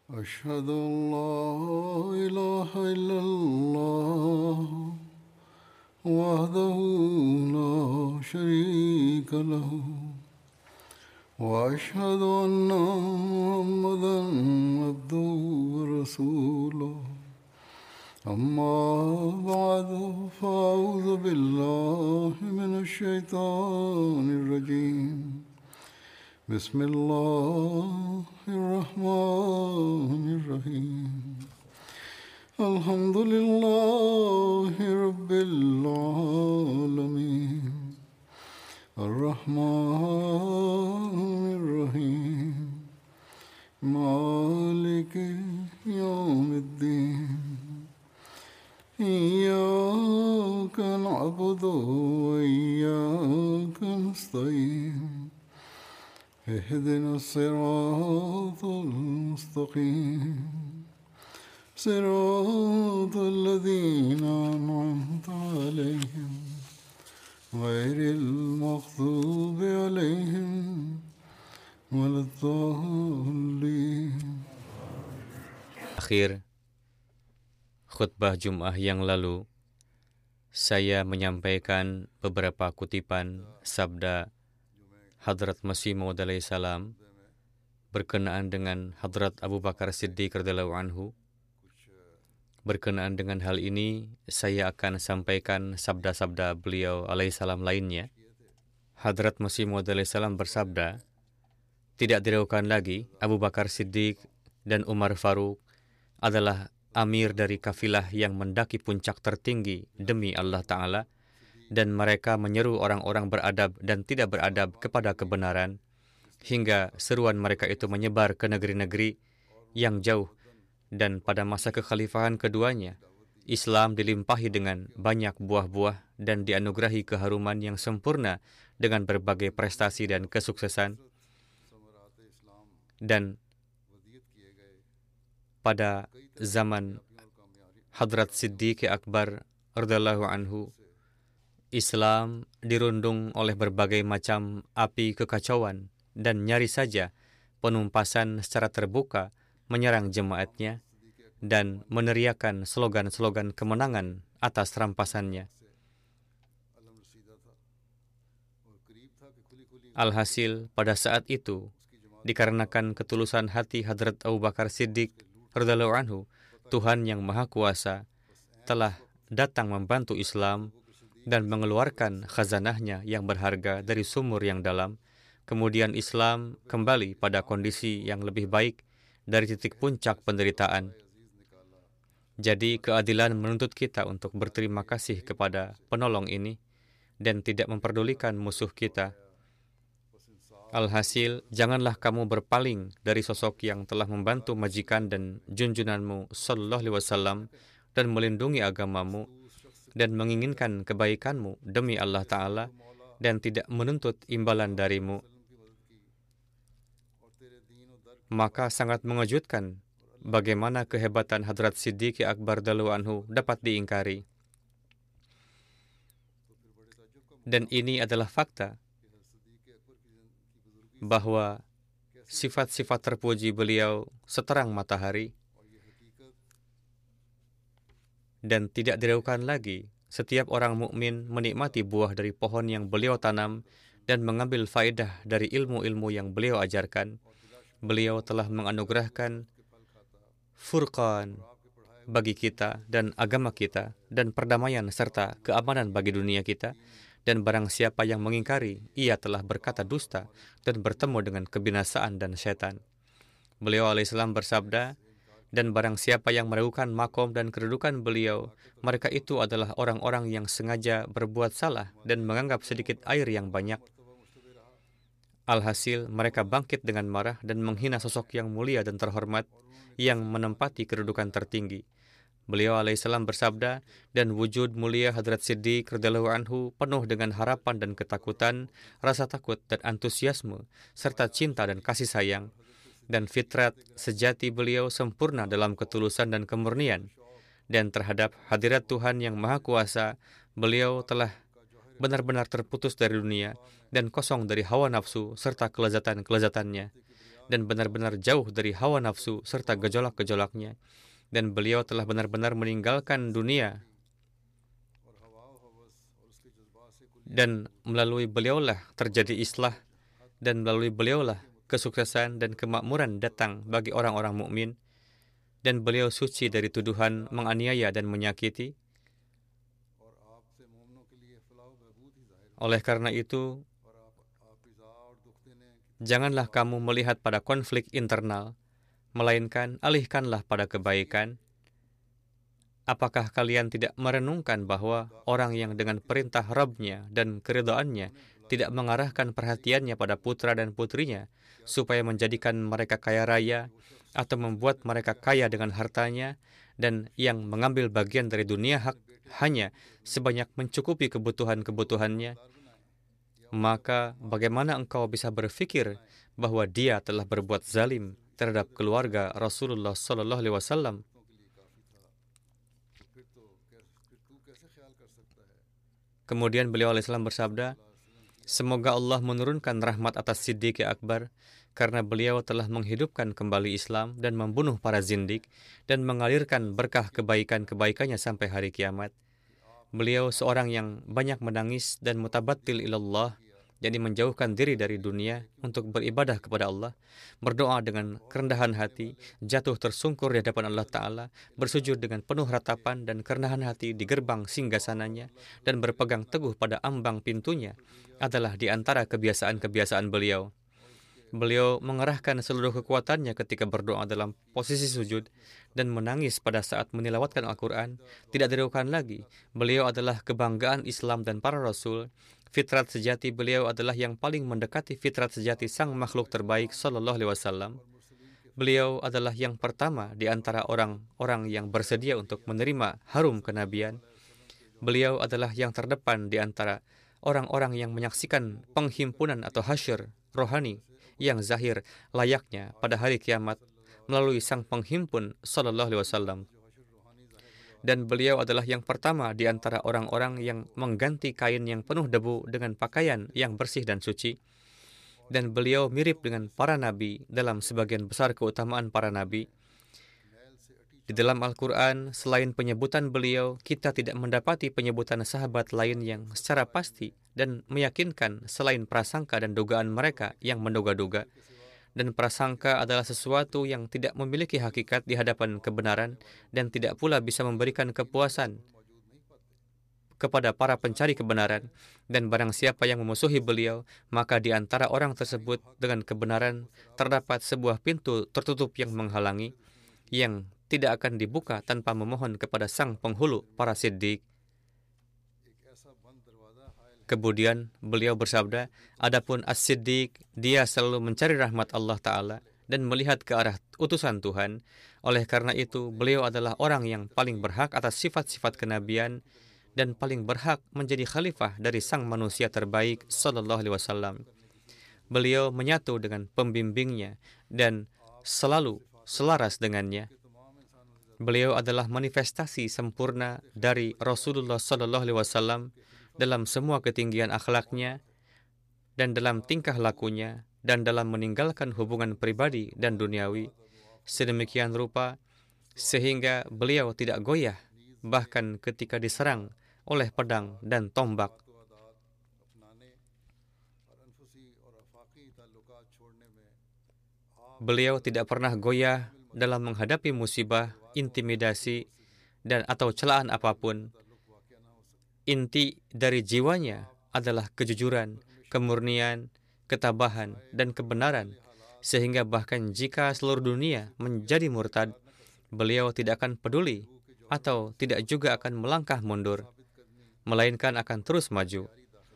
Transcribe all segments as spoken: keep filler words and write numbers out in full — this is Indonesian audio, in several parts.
أشهد أن لا إله إلا الله وحده لا شريك له وأشهد أن محمدا عبده ورسوله أما بعد فأعوذ بالله من الشيطان الرجيم بسم الله الرحمن الرحيم الحمد لله رب العالمين الرحمن الرحيم مالك يوم الدين إياك نعبد وإياك نستعين اهدنا الصراط المستقيم صراط الذين أنعمت عليهم غير المغضوب عليهم ولا الضالين. Akhir khutbah Jum'ah yang lalu, saya menyampaikan beberapa kutipan sabda Hadrat Masih Maud alaihi salam berkenaan dengan Hadrat Abu Bakar Siddiq radhiyallahu anhu. Berkenaan dengan hal ini, saya akan sampaikan sabda-sabda beliau alaihi salam lainnya. Hadrat Masih Maud alaihi salam bersabda, tidak diragukan lagi Abu Bakar Siddiq dan Umar Faruq adalah amir dari kafilah yang mendaki puncak tertinggi demi Allah Ta'ala, dan mereka menyeru orang-orang beradab dan tidak beradab kepada kebenaran, hingga seruan mereka itu menyebar ke negeri-negeri yang jauh. Dan pada masa kekhalifahan keduanya, Islam dilimpahi dengan banyak buah-buah dan dianugerahi keharuman yang sempurna dengan berbagai prestasi dan kesuksesan. Dan pada zaman Hadrat Siddiq Akbar radhiyallahu anhu, Islam dirundung oleh berbagai macam api kekacauan dan nyaris saja penumpasan secara terbuka menyerang jemaatnya dan meneriakan slogan-slogan kemenangan atas rampasannya. Alhasil pada saat itu, dikarenakan ketulusan hati Hadrat Abu Bakar Siddiq radhiyallahu anhu, Tuhan yang Maha Kuasa telah datang membantu Islam dan mengeluarkan khazanahnya yang berharga dari sumur yang dalam. Kemudian Islam kembali pada kondisi yang lebih baik dari titik puncak penderitaan. Jadi keadilan menuntut kita untuk berterima kasih kepada penolong ini dan tidak memperdulikan musuh kita. Alhasil, janganlah kamu berpaling dari sosok yang telah membantu majikan dan junjunanmu sallallahu alaihi wasallam dan melindungi agamamu dan menginginkan kebaikanmu demi Allah Ta'ala dan tidak menuntut imbalan darimu. Maka sangat mengejutkan bagaimana kehebatan Hadrat Siddiq Akbar radhiyallahu anhu dapat diingkari. Dan ini adalah fakta bahwa sifat-sifat terpuji beliau seterang matahari. Dan tidak diragukan lagi, setiap orang mukmin menikmati buah dari pohon yang beliau tanam dan mengambil faedah dari ilmu-ilmu yang beliau ajarkan. Beliau telah menganugerahkan furqan bagi kita dan agama kita dan perdamaian serta keamanan bagi dunia kita. Dan barang siapa yang mengingkari, ia telah berkata dusta dan bertemu dengan kebinasaan dan setan. Beliau alaihissalam bersabda, dan barang siapa yang meragukan makom dan kedudukan beliau, mereka itu adalah orang-orang yang sengaja berbuat salah dan menganggap sedikit air yang banyak. Alhasil, mereka bangkit dengan marah dan menghina sosok yang mulia dan terhormat yang menempati kedudukan tertinggi. Beliau alaihissalam bersabda, dan wujud mulia Hadrat Siddiq radhiyallahu anhu penuh dengan harapan dan ketakutan, rasa takut dan antusiasme, serta cinta dan kasih sayang. Dan fitrat sejati beliau sempurna dalam ketulusan dan kemurnian. Dan terhadap hadirat Tuhan yang Maha Kuasa, beliau telah benar-benar terputus dari dunia dan kosong dari hawa nafsu serta kelezatan-kelezatannya. dan benar-benar jauh dari hawa nafsu serta gejolak-gejolaknya. Dan beliau telah benar-benar meninggalkan dunia, dan melalui beliaulah terjadi islah, dan melalui beliaulah kesuksesan dan kemakmuran datang bagi orang-orang mukmin. Dan beliau suci dari tuduhan menganiaya dan menyakiti. Oleh karena itu, janganlah kamu melihat pada konflik internal, melainkan alihkanlah pada kebaikan. Apakah kalian tidak merenungkan bahwa orang yang dengan perintah Rabb-Nya dan keridhaannya tidak mengarahkan perhatiannya pada putra dan putrinya, supaya menjadikan mereka kaya raya, atau membuat mereka kaya dengan hartanya, dan yang mengambil bagian dari dunia hak hanya sebanyak mencukupi kebutuhan-kebutuhannya? Maka bagaimana engkau bisa berpikir bahwa dia telah berbuat zalim terhadap keluarga Rasulullah Sallallahu Alaihi Wasallam? Kemudian beliau alaihissalam bersabda, semoga Allah menurunkan rahmat atas Siddiq Akbar, karena beliau telah menghidupkan kembali Islam dan membunuh para zindik dan mengalirkan berkah kebaikan-kebaikannya sampai hari kiamat. Beliau seorang yang banyak menangis dan mutabattil ilallah, jadi menjauhkan diri dari dunia untuk beribadah kepada Allah, berdoa dengan kerendahan hati, jatuh tersungkur di hadapan Allah Ta'ala, bersujud dengan penuh ratapan dan kerendahan hati di gerbang singgasananya, dan berpegang teguh pada ambang pintunya, adalah di antara kebiasaan-kebiasaan beliau. Beliau mengerahkan seluruh kekuatannya ketika berdoa dalam posisi sujud dan menangis pada saat menilawatkan Al-Quran. Tidak diragukan lagi, beliau adalah kebanggaan Islam dan para Rasul. Fitrat sejati beliau adalah yang paling mendekati fitrat sejati sang makhluk terbaik Sallallahu Alaihi Wasallam. Beliau adalah yang pertama di antara orang-orang yang bersedia untuk menerima harum kenabian. Beliau adalah yang terdepan di antara orang-orang yang menyaksikan penghimpunan atau hasyr rohani yang zahir layaknya pada hari kiamat melalui sang penghimpun Sallallahu Alaihi Wasallam. Dan beliau adalah yang pertama di antara orang-orang yang mengganti kain yang penuh debu dengan pakaian yang bersih dan suci. Dan beliau mirip dengan para nabi dalam sebagian besar keutamaan para nabi. Di dalam Al-Quran, selain penyebutan beliau, kita tidak mendapati penyebutan sahabat lain yang secara pasti dan meyakinkan selain prasangka dan dugaan mereka yang menduga-duga. Dan prasangka adalah sesuatu yang tidak memiliki hakikat di hadapan kebenaran dan tidak pula bisa memberikan kepuasan kepada para pencari kebenaran. Dan barang siapa yang memusuhi beliau, maka di antara orang tersebut dengan kebenaran terdapat sebuah pintu tertutup yang menghalangi, yang tidak akan dibuka tanpa memohon kepada sang penghulu para siddiq. Kemudian beliau bersabda, adapun as-siddiq, dia selalu mencari rahmat Allah Ta'ala dan melihat ke arah utusan Tuhan. Oleh karena itu, beliau adalah orang yang paling berhak atas sifat-sifat kenabian dan paling berhak menjadi khalifah dari sang manusia terbaik Sallallahu Alaihi Wasallam. Beliau menyatu dengan pembimbingnya dan selalu selaras dengannya. Beliau adalah manifestasi sempurna dari Rasulullah Sallallahu Alaihi Wasallam dalam semua ketinggian akhlaknya dan dalam tingkah lakunya dan dalam meninggalkan hubungan pribadi dan duniawi sedemikian rupa sehingga beliau tidak goyah bahkan ketika diserang oleh pedang dan tombak. Beliau tidak pernah goyah dalam menghadapi musibah, intimidasi, dan atau celaan apapun. Inti dari jiwanya adalah kejujuran, kemurnian, ketabahan, dan kebenaran. Sehingga bahkan jika seluruh dunia menjadi murtad, beliau tidak akan peduli atau tidak juga akan melangkah mundur, melainkan akan terus maju.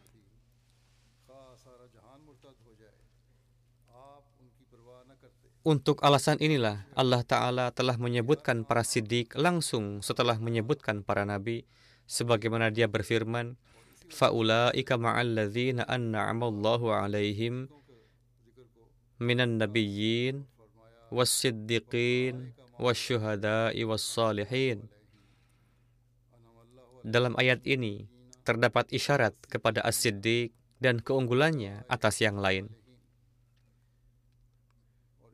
Untuk alasan inilah Allah Ta'ala telah menyebutkan para siddiq langsung setelah menyebutkan para nabi, sebagaimana dia berfirman, فَأُولَٰئِكَ مَعَ الَّذِينَ أَنْعَمَ اللَّهُ عَلَيْهِمْ مِنَ النَّبِيِّينَ وَالصِّدِّقِينَ وَالشُّهَدَاءِ وَالصَّالِحِينَ. Dalam ayat ini terdapat isyarat kepada as-siddiq dan keunggulannya atas yang lain.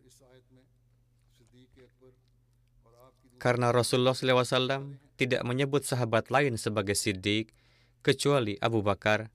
Karena Rasulullah shallallahu alaihi wasallam tidak menyebut sahabat lain sebagai Siddiq kecuali Abu Bakar,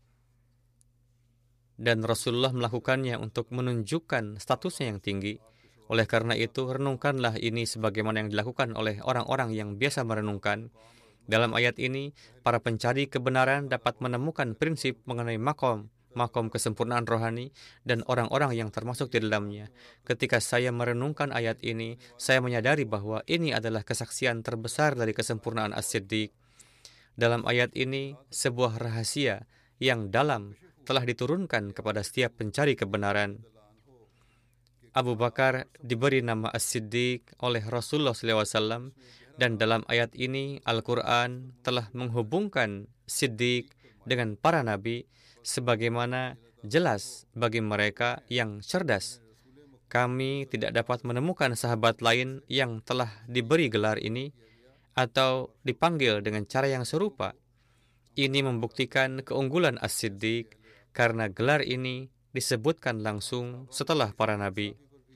dan Rasulullah melakukannya untuk menunjukkan statusnya yang tinggi. Oleh karena itu, renungkanlah ini sebagaimana yang dilakukan oleh orang-orang yang biasa merenungkan. Dalam ayat ini, para pencari kebenaran dapat menemukan prinsip mengenai makom, makom kesempurnaan rohani, dan orang-orang yang termasuk di dalamnya. Ketika saya merenungkan ayat ini, saya menyadari bahwa ini adalah kesaksian terbesar dari kesempurnaan As-Siddiq. Dalam ayat ini, sebuah rahasia yang dalam telah diturunkan kepada setiap pencari kebenaran. Abu Bakar diberi nama As-Siddiq oleh Rasulullah shallallahu alaihi wasallam, dan dalam ayat ini Al-Quran telah menghubungkan Siddiq dengan para nabi sebagaimana jelas bagi mereka yang cerdas. Kami tidak dapat menemukan sahabat lain yang telah diberi gelar ini atau dipanggil dengan cara yang serupa. Ini membuktikan keunggulan As-Siddiq karena gelar ini disebutkan langsung setelah para nabi.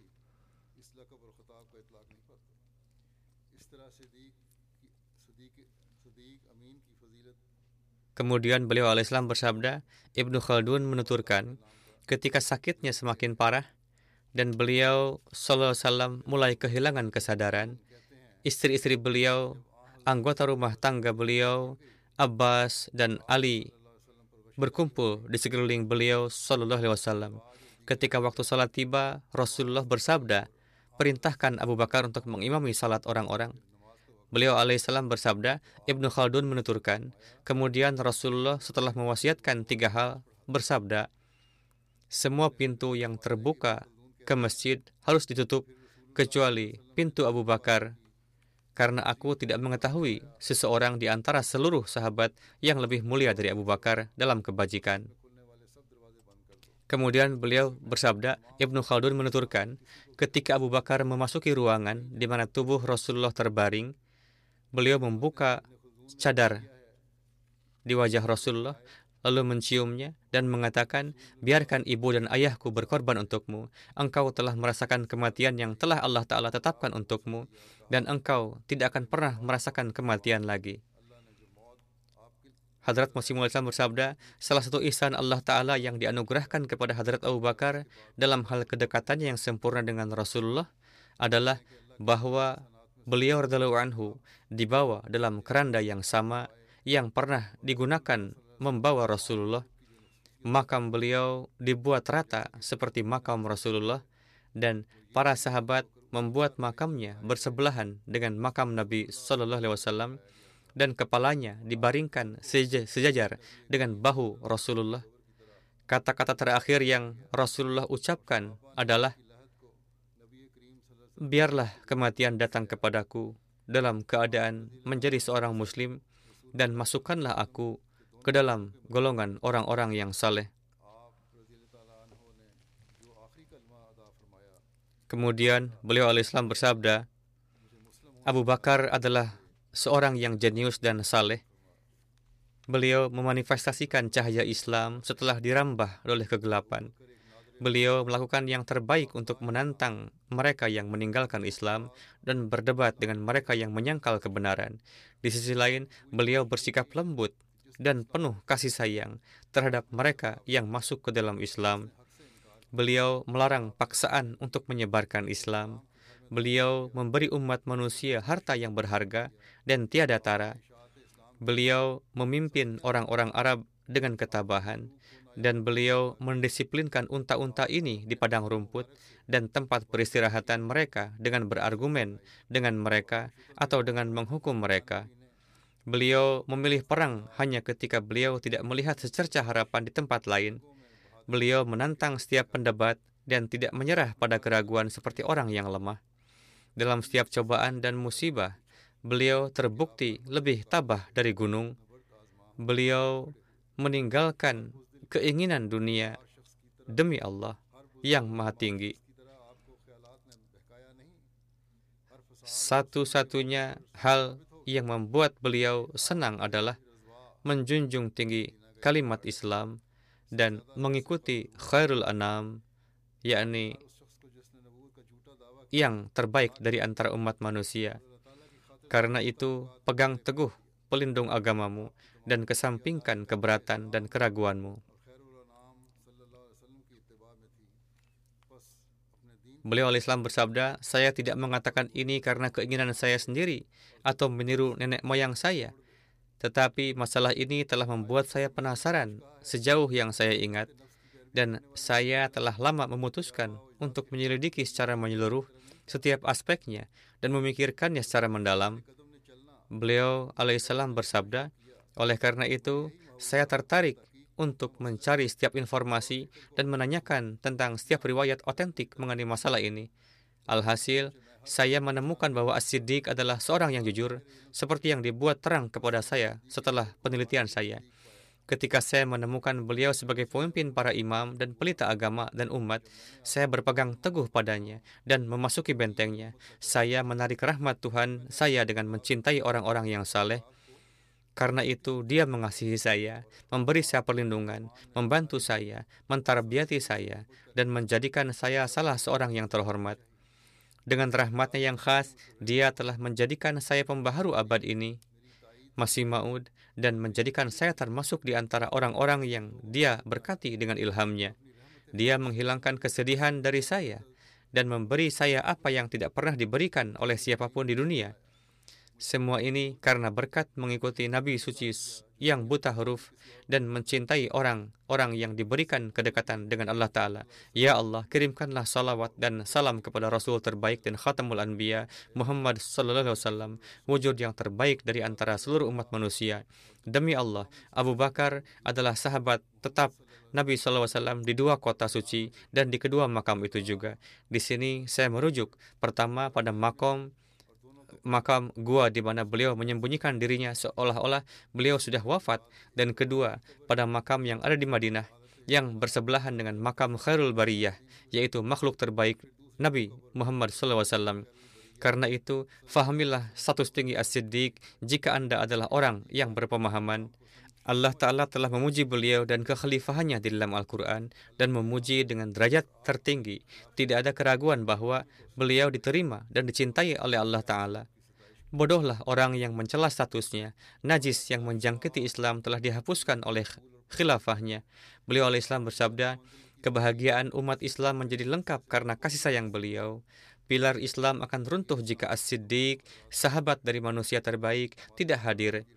Kemudian beliau alaihissalam bersabda, Ibnu Khaldun menuturkan, ketika sakitnya semakin parah dan beliau sallallahu alaihi wasallam mulai kehilangan kesadaran, istri-istri beliau, anggota rumah tangga beliau, Abbas dan Ali berkumpul di sekeliling beliau sallallahu alaihi wasallam. Ketika waktu salat tiba, Rasulullah bersabda, perintahkan Abu Bakar untuk mengimami salat orang-orang. Beliau alaihissalam bersabda, Ibnu Khaldun menuturkan, kemudian Rasulullah setelah mewasiatkan tiga hal bersabda, semua pintu yang terbuka ke masjid harus ditutup kecuali pintu Abu Bakar, karena aku tidak mengetahui seseorang di antara seluruh sahabat yang lebih mulia dari Abu Bakar dalam kebajikan. Kemudian beliau bersabda, Ibnu Khaldun menuturkan, ketika Abu Bakar memasuki ruangan di mana tubuh Rasulullah terbaring, beliau membuka cadar di wajah Rasulullah, lalu menciumnya dan mengatakan, biarkan ibu dan ayahku berkorban untukmu. Engkau telah merasakan kematian yang telah Allah Ta'ala tetapkan untukmu, dan engkau tidak akan pernah merasakan kematian lagi. Hadrat Masih Maud bersabda, salah satu ihsan Allah Ta'ala yang dianugerahkan kepada Hadrat Abu Bakar dalam hal kedekatannya yang sempurna dengan Rasulullah adalah bahwa beliau radhiyallahu anhu dibawa dalam keranda yang sama yang pernah digunakan membawa Rasulullah. Makam beliau dibuat rata seperti makam Rasulullah, dan para sahabat membuat makamnya bersebelahan dengan makam Nabi Sallallahu Alaihi Wasallam, dan kepalanya dibaringkan sejajar dengan bahu Rasulullah. Kata-kata terakhir yang Rasulullah ucapkan adalah, biarlah kematian datang kepadaku dalam keadaan menjadi seorang muslim, dan masukkanlah aku ke dalam golongan orang-orang yang saleh. Kemudian beliau alaihissalam bersabda, Abu Bakar adalah seorang yang jenius dan saleh. Beliau memanifestasikan cahaya Islam setelah dirambah oleh kegelapan. Beliau melakukan yang terbaik untuk menantang mereka yang meninggalkan Islam dan berdebat dengan mereka yang menyangkal kebenaran. Di sisi lain, beliau bersikap lembut dan penuh kasih sayang terhadap mereka yang masuk ke dalam Islam. Beliau melarang paksaan untuk menyebarkan Islam. Beliau memberi umat manusia harta yang berharga dan tiada tara. Beliau memimpin orang-orang Arab dengan ketabahan, dan beliau mendisiplinkan unta-unta ini di padang rumput dan tempat peristirahatan mereka dengan berargumen dengan mereka atau dengan menghukum mereka. Beliau memilih perang hanya ketika beliau tidak melihat secercah harapan di tempat lain. Beliau menantang setiap pendebat dan tidak menyerah pada keraguan seperti orang yang lemah. Dalam setiap cobaan dan musibah, beliau terbukti lebih tabah dari gunung. Beliau meninggalkan keinginan dunia demi Allah yang Maha Tinggi. Satu-satunya hal yang membuat beliau senang adalah menjunjung tinggi kalimat Islam dan mengikuti khairul anam, yakni yang terbaik dari antara umat manusia. Karena itu, pegang teguh pelindung agamamu dan kesampingkan keberatan dan keraguanmu. Beliau al-Islam bersabda, saya tidak mengatakan ini karena keinginan saya sendiri atau meniru nenek moyang saya. Tetapi masalah ini telah membuat saya penasaran sejauh yang saya ingat. Dan saya telah lama memutuskan untuk menyelidiki secara menyeluruh setiap aspeknya dan memikirkannya secara mendalam. Beliau alaihissalam bersabda, oleh karena itu, saya tertarik untuk mencari setiap informasi dan menanyakan tentang setiap riwayat otentik mengenai masalah ini. Alhasil, saya menemukan bahwa As-Siddiq adalah seorang yang jujur, seperti yang dibuat terang kepada saya setelah penelitian saya. Ketika saya menemukan beliau sebagai pemimpin para imam dan pelita agama dan umat, saya berpegang teguh padanya dan memasuki bentengnya. Saya menarik rahmat Tuhan saya dengan mencintai orang-orang yang saleh. Karena itu, dia mengasihi saya, memberi saya perlindungan, membantu saya, mentarbiati saya, dan menjadikan saya salah seorang yang terhormat. Dengan rahmatnya yang khas, dia telah menjadikan saya pembaharu abad ini, Masih Maud, dan menjadikan saya termasuk di antara orang-orang yang dia berkati dengan ilhamnya. Dia menghilangkan kesedihan dari saya, dan memberi saya apa yang tidak pernah diberikan oleh siapapun di dunia. Semua ini karena berkat mengikuti Nabi suci yang buta huruf dan mencintai orang-orang yang diberikan kedekatan dengan Allah Ta'ala. Ya Allah, kirimkanlah salawat dan salam kepada Rasul terbaik dan Khatamul Anbiya, Muhammad Sallallahu Alaihi Wasallam, wujud yang terbaik dari antara seluruh umat manusia. Demi Allah, Abu Bakar adalah sahabat tetap Nabi Sallallahu Alaihi Wasallam di dua kota suci dan di kedua makam itu juga. Di sini saya merujuk pertama pada makam makam gua di mana beliau menyembunyikan dirinya seolah-olah beliau sudah wafat, dan kedua pada makam yang ada di Madinah yang bersebelahan dengan makam Khairul Bariyah, yaitu makhluk terbaik Nabi Muhammad shallallahu alaihi wasallam. Karena itu, fahamilah status tinggi As-Siddiq jika Anda adalah orang yang berpemahaman. Allah Ta'ala telah memuji beliau dan kekhalifahannya di dalam Al-Quran dan memuji dengan derajat tertinggi. Tidak ada keraguan bahwa beliau diterima dan dicintai oleh Allah Ta'ala. Bodohlah orang yang mencela statusnya. Najis yang menjangkiti Islam telah dihapuskan oleh khilafahnya. Beliau al-Islam bersabda, kebahagiaan umat Islam menjadi lengkap karena kasih sayang beliau. Pilar Islam akan runtuh jika As-Siddiq, sahabat dari manusia terbaik, tidak hadir.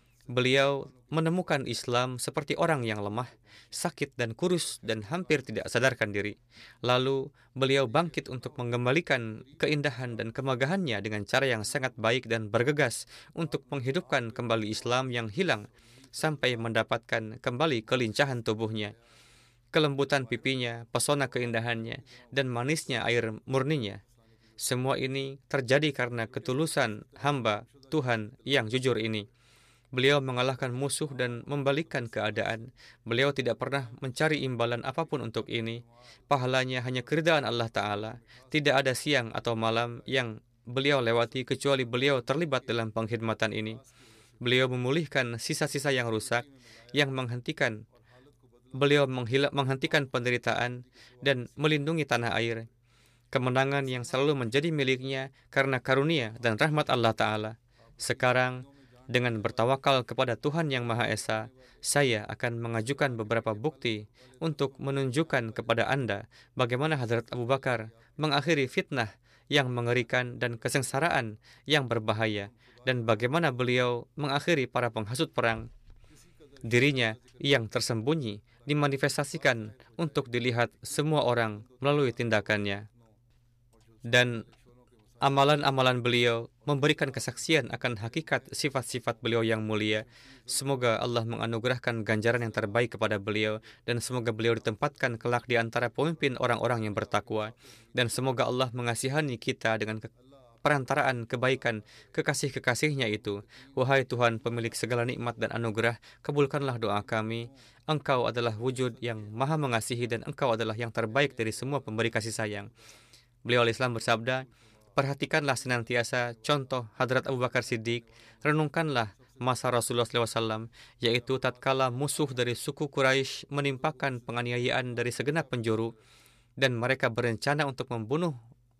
Beliau menemukan Islam seperti orang yang lemah, sakit dan kurus dan hampir tidak sadarkan diri. Lalu beliau bangkit untuk mengembalikan keindahan dan kemegahannya dengan cara yang sangat baik dan bergegas untuk menghidupkan kembali Islam yang hilang sampai mendapatkan kembali kelincahan tubuhnya, kelembutan pipinya, pesona keindahannya, dan manisnya air murninya. Semua ini terjadi karena ketulusan hamba Tuhan yang jujur ini. Beliau mengalahkan musuh dan membalikkan keadaan. Beliau tidak pernah mencari imbalan apapun untuk ini. Pahalanya hanya keridaan Allah Ta'ala. Tidak ada siang atau malam yang beliau lewati kecuali beliau terlibat dalam pengkhidmatan ini. Beliau memulihkan sisa-sisa yang rusak, yang menghentikan beliau menghila, menghentikan penderitaan dan melindungi tanah air. Kemenangan yang selalu menjadi miliknya karena karunia dan rahmat Allah Ta'ala. Sekarang, dengan bertawakal kepada Tuhan Yang Maha Esa, saya akan mengajukan beberapa bukti untuk menunjukkan kepada Anda bagaimana Hadrat Abu Bakar mengakhiri fitnah yang mengerikan dan kesengsaraan yang berbahaya, dan bagaimana beliau mengakhiri para penghasut perang. Dirinya yang tersembunyi dimanifestasikan untuk dilihat semua orang melalui tindakannya. Dan amalan-amalan beliau memberikan kesaksian akan hakikat sifat-sifat beliau yang mulia. Semoga Allah menganugerahkan ganjaran yang terbaik kepada beliau, dan semoga beliau ditempatkan kelak di antara pemimpin orang-orang yang bertakwa. Dan semoga Allah mengasihani kita dengan ke perantaraan kebaikan kekasih-kekasihnya itu. Wahai Tuhan pemilik segala nikmat dan anugerah, kabulkanlah doa kami. Engkau adalah wujud yang maha mengasihi dan Engkau adalah yang terbaik dari semua pemberi kasih sayang. Beliau al-Islam bersabda, perhatikanlah senantiasa contoh Hadrat Abu Bakar Siddiq, renungkanlah masa Rasulullah shallallahu alaihi wasallam, yaitu tatkala musuh dari suku Quraisy menimpakan penganiayaan dari segenap penjuru, dan mereka berencana untuk membunuh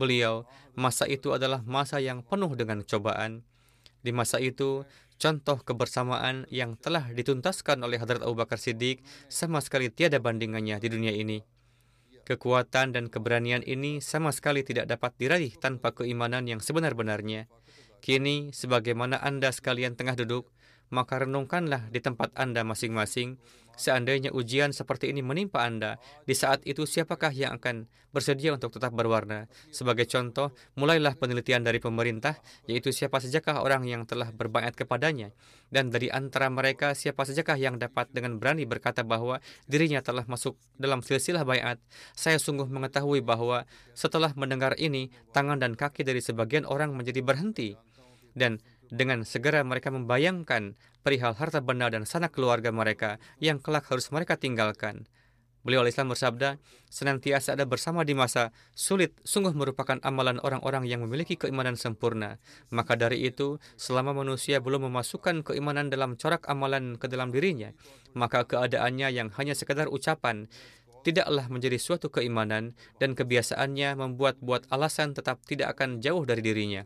beliau, masa itu adalah masa yang penuh dengan cobaan. Di masa itu, contoh kebersamaan yang telah dituntaskan oleh Hadrat Abu Bakar Siddiq sama sekali tiada bandingannya di dunia ini. Kekuatan dan keberanian ini sama sekali tidak dapat diraih tanpa keimanan yang sebenar-benarnya. Kini, sebagaimana Anda sekalian tengah duduk, maka renungkanlah di tempat Anda masing-masing. Seandainya ujian seperti ini menimpa Anda, di saat itu siapakah yang akan bersedia untuk tetap berwarna? Sebagai contoh, mulailah penelitian dari pemerintah, yaitu siapa sajakah orang yang telah berbaiat kepadanya. Dan dari antara mereka, siapa sajakah yang dapat dengan berani berkata bahwa dirinya telah masuk dalam silsilah baiat. Saya sungguh mengetahui bahwa setelah mendengar ini, tangan dan kaki dari sebagian orang menjadi berhenti. Dan dengan segera mereka membayangkan perihal harta benda dan sanak keluarga mereka yang kelak harus mereka tinggalkan. Beliau Al-Islam bersabda, senantiasa ada bersama di masa sulit sungguh merupakan amalan orang-orang yang memiliki keimanan sempurna. Maka dari itu, selama manusia belum memasukkan keimanan dalam corak amalan ke dalam dirinya, maka keadaannya yang hanya sekadar ucapan tidaklah menjadi suatu keimanan, dan kebiasaannya membuat-buat alasan tetap tidak akan jauh dari dirinya.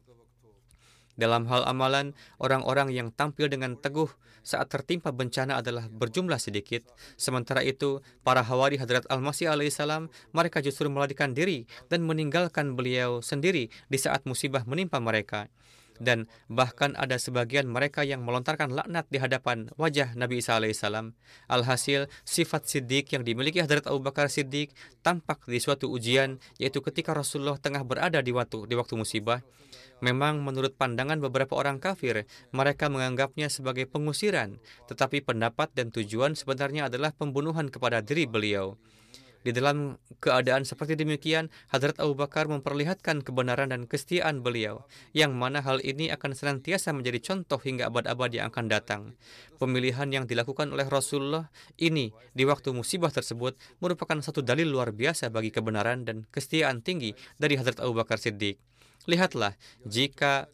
Dalam hal amalan, orang-orang yang tampil dengan teguh saat tertimpa bencana adalah berjumlah sedikit. Sementara itu, para hawari Hadrat Al-Masih alaihissalam, mereka justru melarikan diri dan meninggalkan beliau sendiri di saat musibah menimpa mereka. Dan bahkan ada sebagian mereka yang melontarkan laknat di hadapan wajah Nabi Isa alaihissalam. Alhasil, sifat Siddiq yang dimiliki Hadrat Abu Bakar Siddiq tampak di suatu ujian, yaitu ketika Rasulullah tengah berada di waktu, di waktu musibah. Memang menurut pandangan beberapa orang kafir, mereka menganggapnya sebagai pengusiran, tetapi pendapat dan tujuan sebenarnya adalah pembunuhan kepada diri beliau. Di dalam keadaan seperti demikian, Hadrat Abu Bakar memperlihatkan kebenaran dan kesetiaan beliau, yang mana hal ini akan senantiasa menjadi contoh hingga abad-abad yang akan datang. Pemilihan yang dilakukan oleh Rasulullah ini di waktu musibah tersebut merupakan satu dalil luar biasa bagi kebenaran dan kesetiaan tinggi dari Hadrat Abu Bakar Siddiq. Lihatlah, jika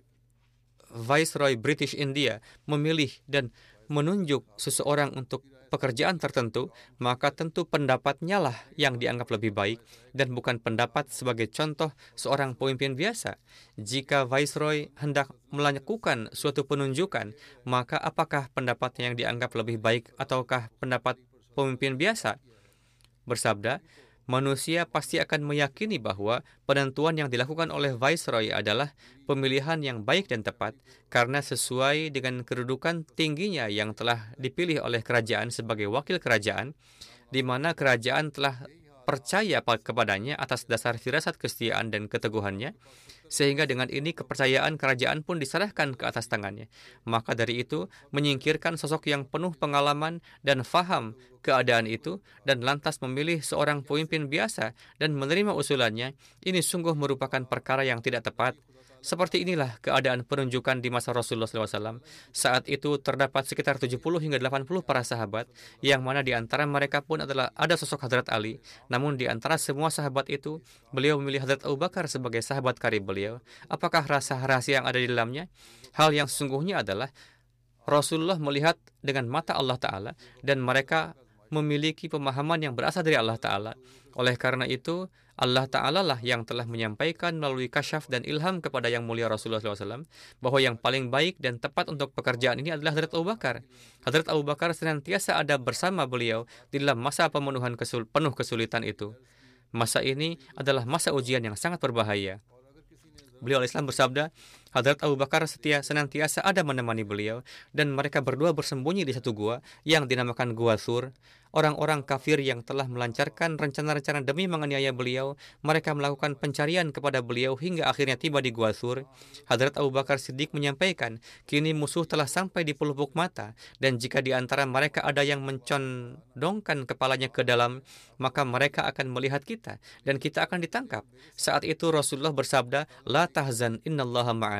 Viceroy British India memilih dan menunjuk seseorang untuk pekerjaan tertentu, maka tentu pendapatnya lah yang dianggap lebih baik dan bukan pendapat sebagai contoh seorang pemimpin biasa. Jika Viceroy hendak melakukan suatu penunjukan, maka apakah pendapatnya yang dianggap lebih baik ataukah pendapat pemimpin biasa? Bersabda, manusia pasti akan meyakini bahwa penentuan yang dilakukan oleh Viceroy adalah pemilihan yang baik dan tepat karena sesuai dengan kedudukan tingginya yang telah dipilih oleh kerajaan sebagai wakil kerajaan, di mana kerajaan telah percaya kepadanya atas dasar firasat kesetiaan dan keteguhannya, sehingga dengan ini kepercayaan kerajaan pun diserahkan ke atas tangannya. Maka dari itu, menyingkirkan sosok yang penuh pengalaman dan faham keadaan itu, dan lantas memilih seorang pemimpin biasa dan menerima usulannya, ini sungguh merupakan perkara yang tidak tepat. Seperti inilah keadaan penunjukan di masa Rasulullah shallallahu alaihi wasallam. Saat itu terdapat sekitar tujuh puluh hingga delapan puluh para sahabat, yang mana di antara mereka pun adalah ada sosok Hadrat Ali. Namun di antara semua sahabat itu, beliau memilih Hadrat Abu Bakar sebagai sahabat karib beliau. Apakah rasa rahasia yang ada di dalamnya? Hal yang sesungguhnya adalah Rasulullah melihat dengan mata Allah Ta'ala, dan mereka memiliki pemahaman yang berasal dari Allah Ta'ala. Oleh karena itu, Allah Ta'ala lah yang telah menyampaikan melalui kasyaf dan ilham kepada yang mulia Rasulullah shallallahu alaihi wasallam bahwa yang paling baik dan tepat untuk pekerjaan ini adalah Hadrat Abu Bakar. Hadrat Abu Bakar senantiasa ada bersama beliau di dalam masa pemenuhan kesul penuh kesulitan itu. Masa ini adalah masa ujian yang sangat berbahaya. Beliau Al-Islam bersabda, Hadrat Abu Bakar setia senantiasa ada menemani beliau, dan mereka berdua bersembunyi di satu gua yang dinamakan Gua Thur. Orang-orang kafir yang telah melancarkan rencana-rencana demi menganiaya beliau, mereka melakukan pencarian kepada beliau hingga akhirnya tiba di Gua Thur. Hadrat Abu Bakar Siddiq menyampaikan, kini musuh telah sampai di pelupuk mata, dan jika di antara mereka ada yang mencondongkan kepalanya ke dalam, maka mereka akan melihat kita, dan kita akan ditangkap. Saat itu Rasulullah bersabda, La tahzan innallaha ma'ana.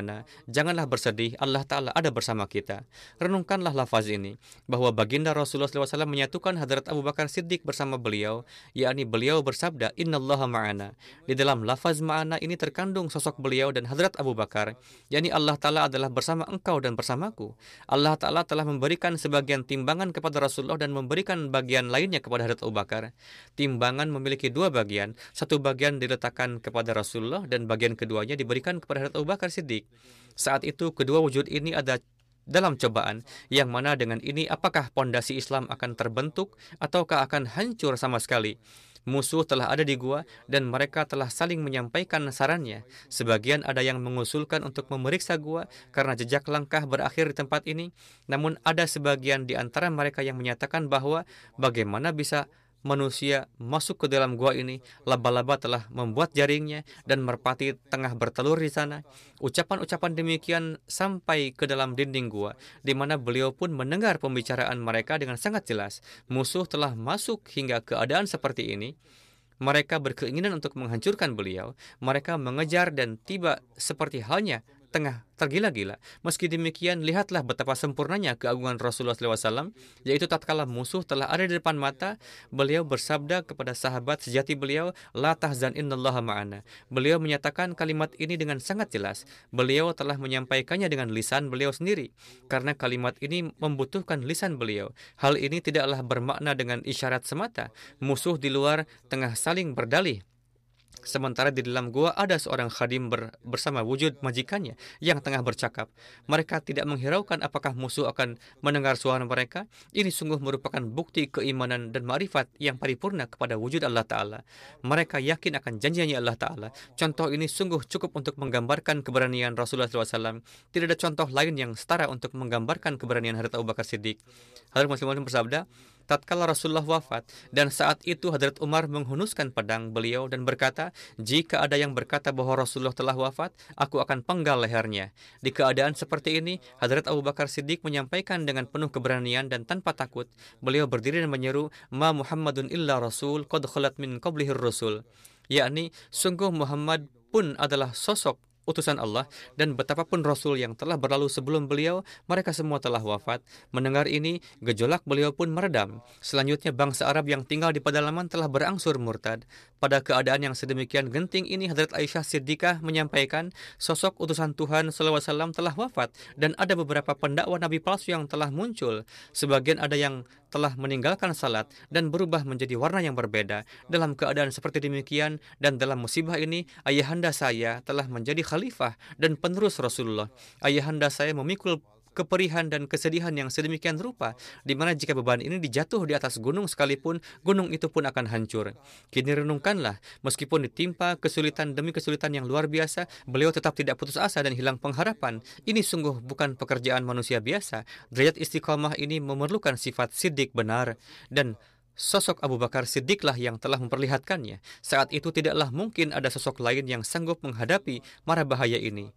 ma'ana. Janganlah bersedih, Allah Ta'ala ada bersama kita. Renungkanlah lafaz ini, bahwa baginda Rasulullah shallallahu alaihi wasallam menyatukan Hadrat Abu Bakar Siddiq bersama beliau, yakni beliau bersabda, Innallaha ma'ana. Di dalam lafaz ma'ana ini terkandung sosok beliau dan Hadrat Abu Bakar, yakni Allah Ta'ala adalah bersama engkau dan bersamaku. Allah Ta'ala telah memberikan sebagian timbangan kepada Rasulullah dan memberikan bagian lainnya kepada Hadrat Abu Bakar. Timbangan memiliki dua bagian, satu bagian diletakkan kepada Rasulullah dan bagian keduanya diberikan kepada Hadrat Abu Bakar Siddiq. Saat itu kedua wujud ini ada dalam cobaan, yang mana dengan ini apakah pondasi Islam akan terbentuk ataukah akan hancur sama sekali. Musuh telah ada di gua dan mereka telah saling menyampaikan sarannya. Sebagian ada yang mengusulkan untuk memeriksa gua karena jejak langkah berakhir di tempat ini. Namun ada sebagian di antara mereka yang menyatakan bahwa bagaimana bisa manusia masuk ke dalam gua ini, laba-laba telah membuat jaringnya dan merpati tengah bertelur di sana. Ucapan-ucapan demikian sampai ke dalam dinding gua, di mana beliau pun mendengar pembicaraan mereka dengan sangat jelas. Musuh telah masuk hingga keadaan seperti ini. Mereka berkeinginan untuk menghancurkan beliau. Mereka mengejar dan tiba seperti halnya tengah tergila-gila. Meski demikian, lihatlah betapa sempurnanya keagungan Rasulullah shallallahu alaihi wasallam, yaitu tatkala musuh telah ada di depan mata, beliau bersabda kepada sahabat sejati beliau, La tahzan innallaha ma'ana. Beliau menyatakan kalimat ini dengan sangat jelas. Beliau telah menyampaikannya dengan lisan beliau sendiri, karena kalimat ini membutuhkan lisan beliau. Hal ini tidaklah bermakna dengan isyarat semata. Musuh di luar tengah saling berdalih, sementara di dalam gua ada seorang khadim ber, bersama wujud majikannya yang tengah bercakap. Mereka tidak menghiraukan apakah musuh akan mendengar suara mereka. Ini sungguh merupakan bukti keimanan dan ma'rifat yang paripurna kepada wujud Allah Ta'ala. Mereka yakin akan janjinya Allah Ta'ala. Contoh ini sungguh cukup untuk menggambarkan keberanian Rasulullah shallallahu alaihi wasallam. Tidak ada contoh lain yang setara untuk menggambarkan keberanian Hadrat Abu Bakar Siddiq. Hadrat Muslim bersabda, tatkala Rasulullah wafat dan saat itu Hadrat Umar menghunuskan pedang beliau dan berkata, jika ada yang berkata bahwa Rasulullah telah wafat, aku akan penggal lehernya. Di keadaan seperti ini, Hadrat Abu Bakar Siddiq menyampaikan dengan penuh keberanian dan tanpa takut. Beliau berdiri dan menyeru, Ma Muhammadun illa Rasul, qad khalat min qablihir Rasul. Yakni, sungguh Muhammad pun adalah sosok utusan Allah, dan betapapun Rasul yang telah berlalu sebelum beliau, mereka semua telah wafat. Mendengar ini, gejolak beliau pun meredam. Selanjutnya, bangsa Arab yang tinggal di pedalaman telah berangsur murtad. Pada keadaan yang sedemikian genting ini, Hadrat Aisyah Siddiqah menyampaikan, sosok utusan Tuhan shallallahu alaihi wasallam telah wafat, dan ada beberapa pendakwa Nabi palsu yang telah muncul. Sebagian ada yang telah meninggalkan salat dan berubah menjadi warna yang berbeda. Dalam keadaan seperti demikian dan dalam musibah ini, ayahanda saya telah menjadi khalifah dan penerus Rasulullah. Ayahanda saya memikul keperihan dan kesedihan yang sedemikian rupa, di mana jika beban ini dijatuh di atas gunung sekalipun, gunung itu pun akan hancur. Kini renungkanlah, meskipun ditimpa kesulitan demi kesulitan yang luar biasa, beliau tetap tidak putus asa dan hilang pengharapan. Ini sungguh bukan pekerjaan manusia biasa. Derajat istiqamah ini memerlukan sifat siddiq benar, dan sosok Abu Bakar Siddiqlah yang telah memperlihatkannya. Saat itu tidaklah mungkin ada sosok lain yang sanggup menghadapi mara bahaya ini.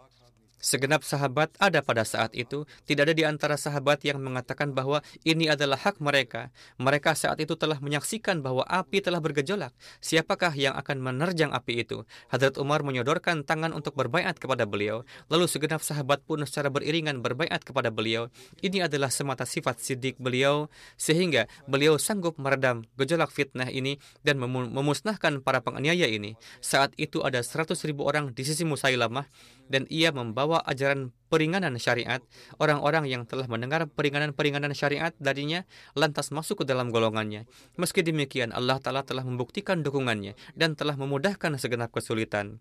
Segenap sahabat ada pada saat itu. Tidak ada di antara sahabat yang mengatakan bahwa ini adalah hak mereka. Mereka saat itu telah menyaksikan bahwa api telah bergejolak. Siapakah yang akan menerjang api itu? Hadrat Umar menyodorkan tangan untuk berbaiat kepada beliau. Lalu segenap sahabat pun secara beriringan berbaiat kepada beliau. Ini adalah semata sifat siddiq beliau, sehingga beliau sanggup meredam gejolak fitnah ini dan memusnahkan para penganiaya ini. Saat itu ada seratus ribu orang di sisi Musailamah, dan ia membawa ajaran peringanan syariat. Orang-orang yang telah mendengar peringanan-peringanan syariat darinya lantas masuk ke dalam golongannya. Meski demikian, Allah Ta'ala telah membuktikan dukungannya dan telah memudahkan segenap kesulitan.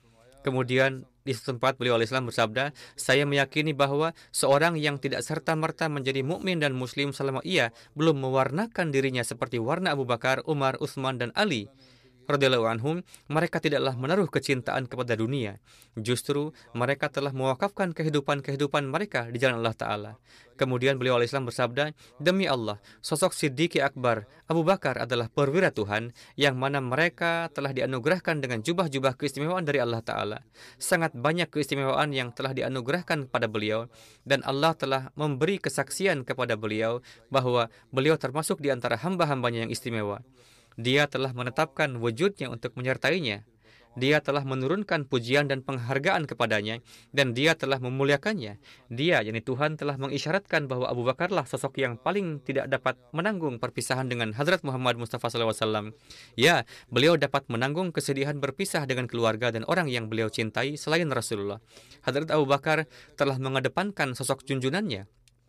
Kemudian di tempat beliau alaihissalam bersabda, saya meyakini bahwa seorang yang tidak serta-merta menjadi mukmin dan muslim selama ia belum mewarnakan dirinya seperti warna Abu Bakar, Umar, Utsman, dan Ali radhiyallahu anhum, mereka tidaklah menaruh kecintaan kepada dunia. Justru mereka telah mewakafkan kehidupan-kehidupan mereka di jalan Allah Ta'ala. Kemudian beliau alaihissalam bersabda, demi Allah, sosok Siddiq Akbar Abu Bakar adalah perwira Tuhan, yang mana mereka telah dianugerahkan dengan jubah-jubah keistimewaan dari Allah Ta'ala. Sangat banyak keistimewaan yang telah dianugerahkan kepada beliau, dan Allah telah memberi kesaksian kepada beliau bahwa beliau termasuk di antara hamba-hambanya yang istimewa. Dia telah menetapkan wujudnya untuk menyertainya. Dia telah menurunkan pujian dan penghargaan kepadanya, dan dia telah memuliakannya. Dia, yakni Tuhan, telah mengisyaratkan bahwa Abu Bakarlah sosok yang paling tidak dapat menanggung perpisahan dengan Hadrat Muhammad Mustafa shallallahu alaihi wasallam. Ya, beliau dapat menanggung kesedihan berpisah dengan keluarga dan orang yang beliau cintai selain Rasulullah. Hadrat Abu Bakar telah mengedepankan sosok junjunannya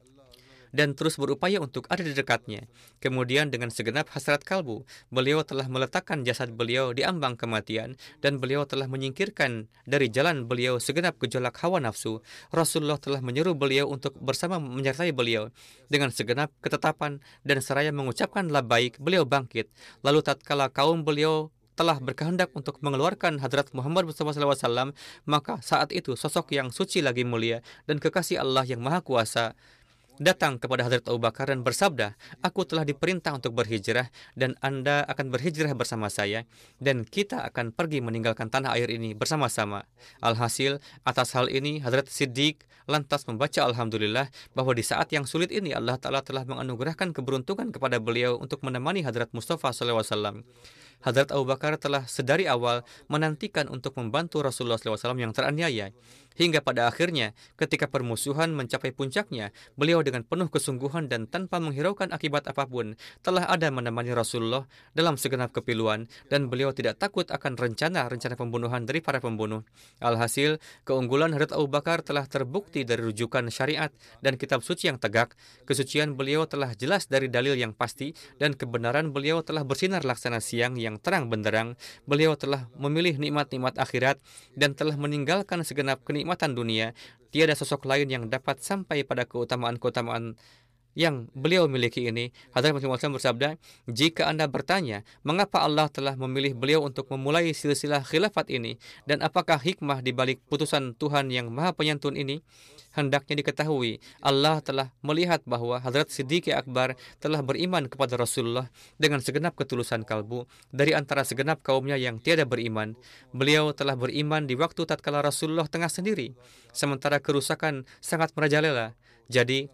dan terus berupaya untuk ada di dekatnya. Kemudian dengan segenap hasrat kalbu, beliau telah meletakkan jasad beliau di ambang kematian, dan beliau telah menyingkirkan dari jalan beliau segenap gejolak hawa nafsu. Rasulullah telah menyeru beliau untuk bersama menyertai beliau. Dengan segenap ketetapan dan seraya mengucapkan labbaik, beliau bangkit. Lalu tatkala kaum beliau telah berkehendak untuk mengeluarkan Hadrat Muhammad Mustafa shallallahu alaihi wasallam, maka saat itu sosok yang suci lagi mulia dan kekasih Allah yang Maha Kuasa datang kepada Hadrat Abu Bakar dan bersabda, "Aku telah diperintah untuk berhijrah dan Anda akan berhijrah bersama saya, dan kita akan pergi meninggalkan tanah air ini bersama-sama." Alhasil, atas hal ini Hadrat Siddiq lantas membaca Alhamdulillah bahwa di saat yang sulit ini Allah Ta'ala telah menganugerahkan keberuntungan kepada beliau untuk menemani Hadrat Mustafa shallallahu alaihi wasallam. Hadrat Abu Bakar telah sedari awal menantikan untuk membantu Rasulullah shallallahu alaihi wasallam yang teraniaya. Hingga pada akhirnya, ketika permusuhan mencapai puncaknya, beliau dengan penuh kesungguhan dan tanpa menghiraukan akibat apapun, telah ada menemani Rasulullah dalam segenap kepiluan, dan beliau tidak takut akan rencana-rencana pembunuhan dari para pembunuh. Alhasil, keunggulan Hadrat Abu Bakar telah terbukti dari rujukan syariat dan kitab suci yang tegak. Kesucian beliau telah jelas dari dalil yang pasti, dan kebenaran beliau telah bersinar laksana siang yang terang benderang. Beliau telah memilih nikmat-nikmat akhirat dan telah meninggalkan segenap kenikmatan dunia. Tiada sosok lain yang dapat sampai pada keutamaan-keutamaan yang beliau miliki ini. Hadrat Masih Maud bersabda, "Jika Anda bertanya, mengapa Allah telah memilih beliau untuk memulai silsilah khilafat ini, dan apakah hikmah di balik putusan Tuhan yang Maha Penyantun ini? Hendaknya diketahui, Allah telah melihat bahwa Hadrat Siddiq Akbar telah beriman kepada Rasulullah dengan segenap ketulusan kalbu dari antara segenap kaumnya yang tiada beriman. Beliau telah beriman di waktu tatkala Rasulullah tengah sendiri, sementara kerusakan sangat merajalela. Jadi,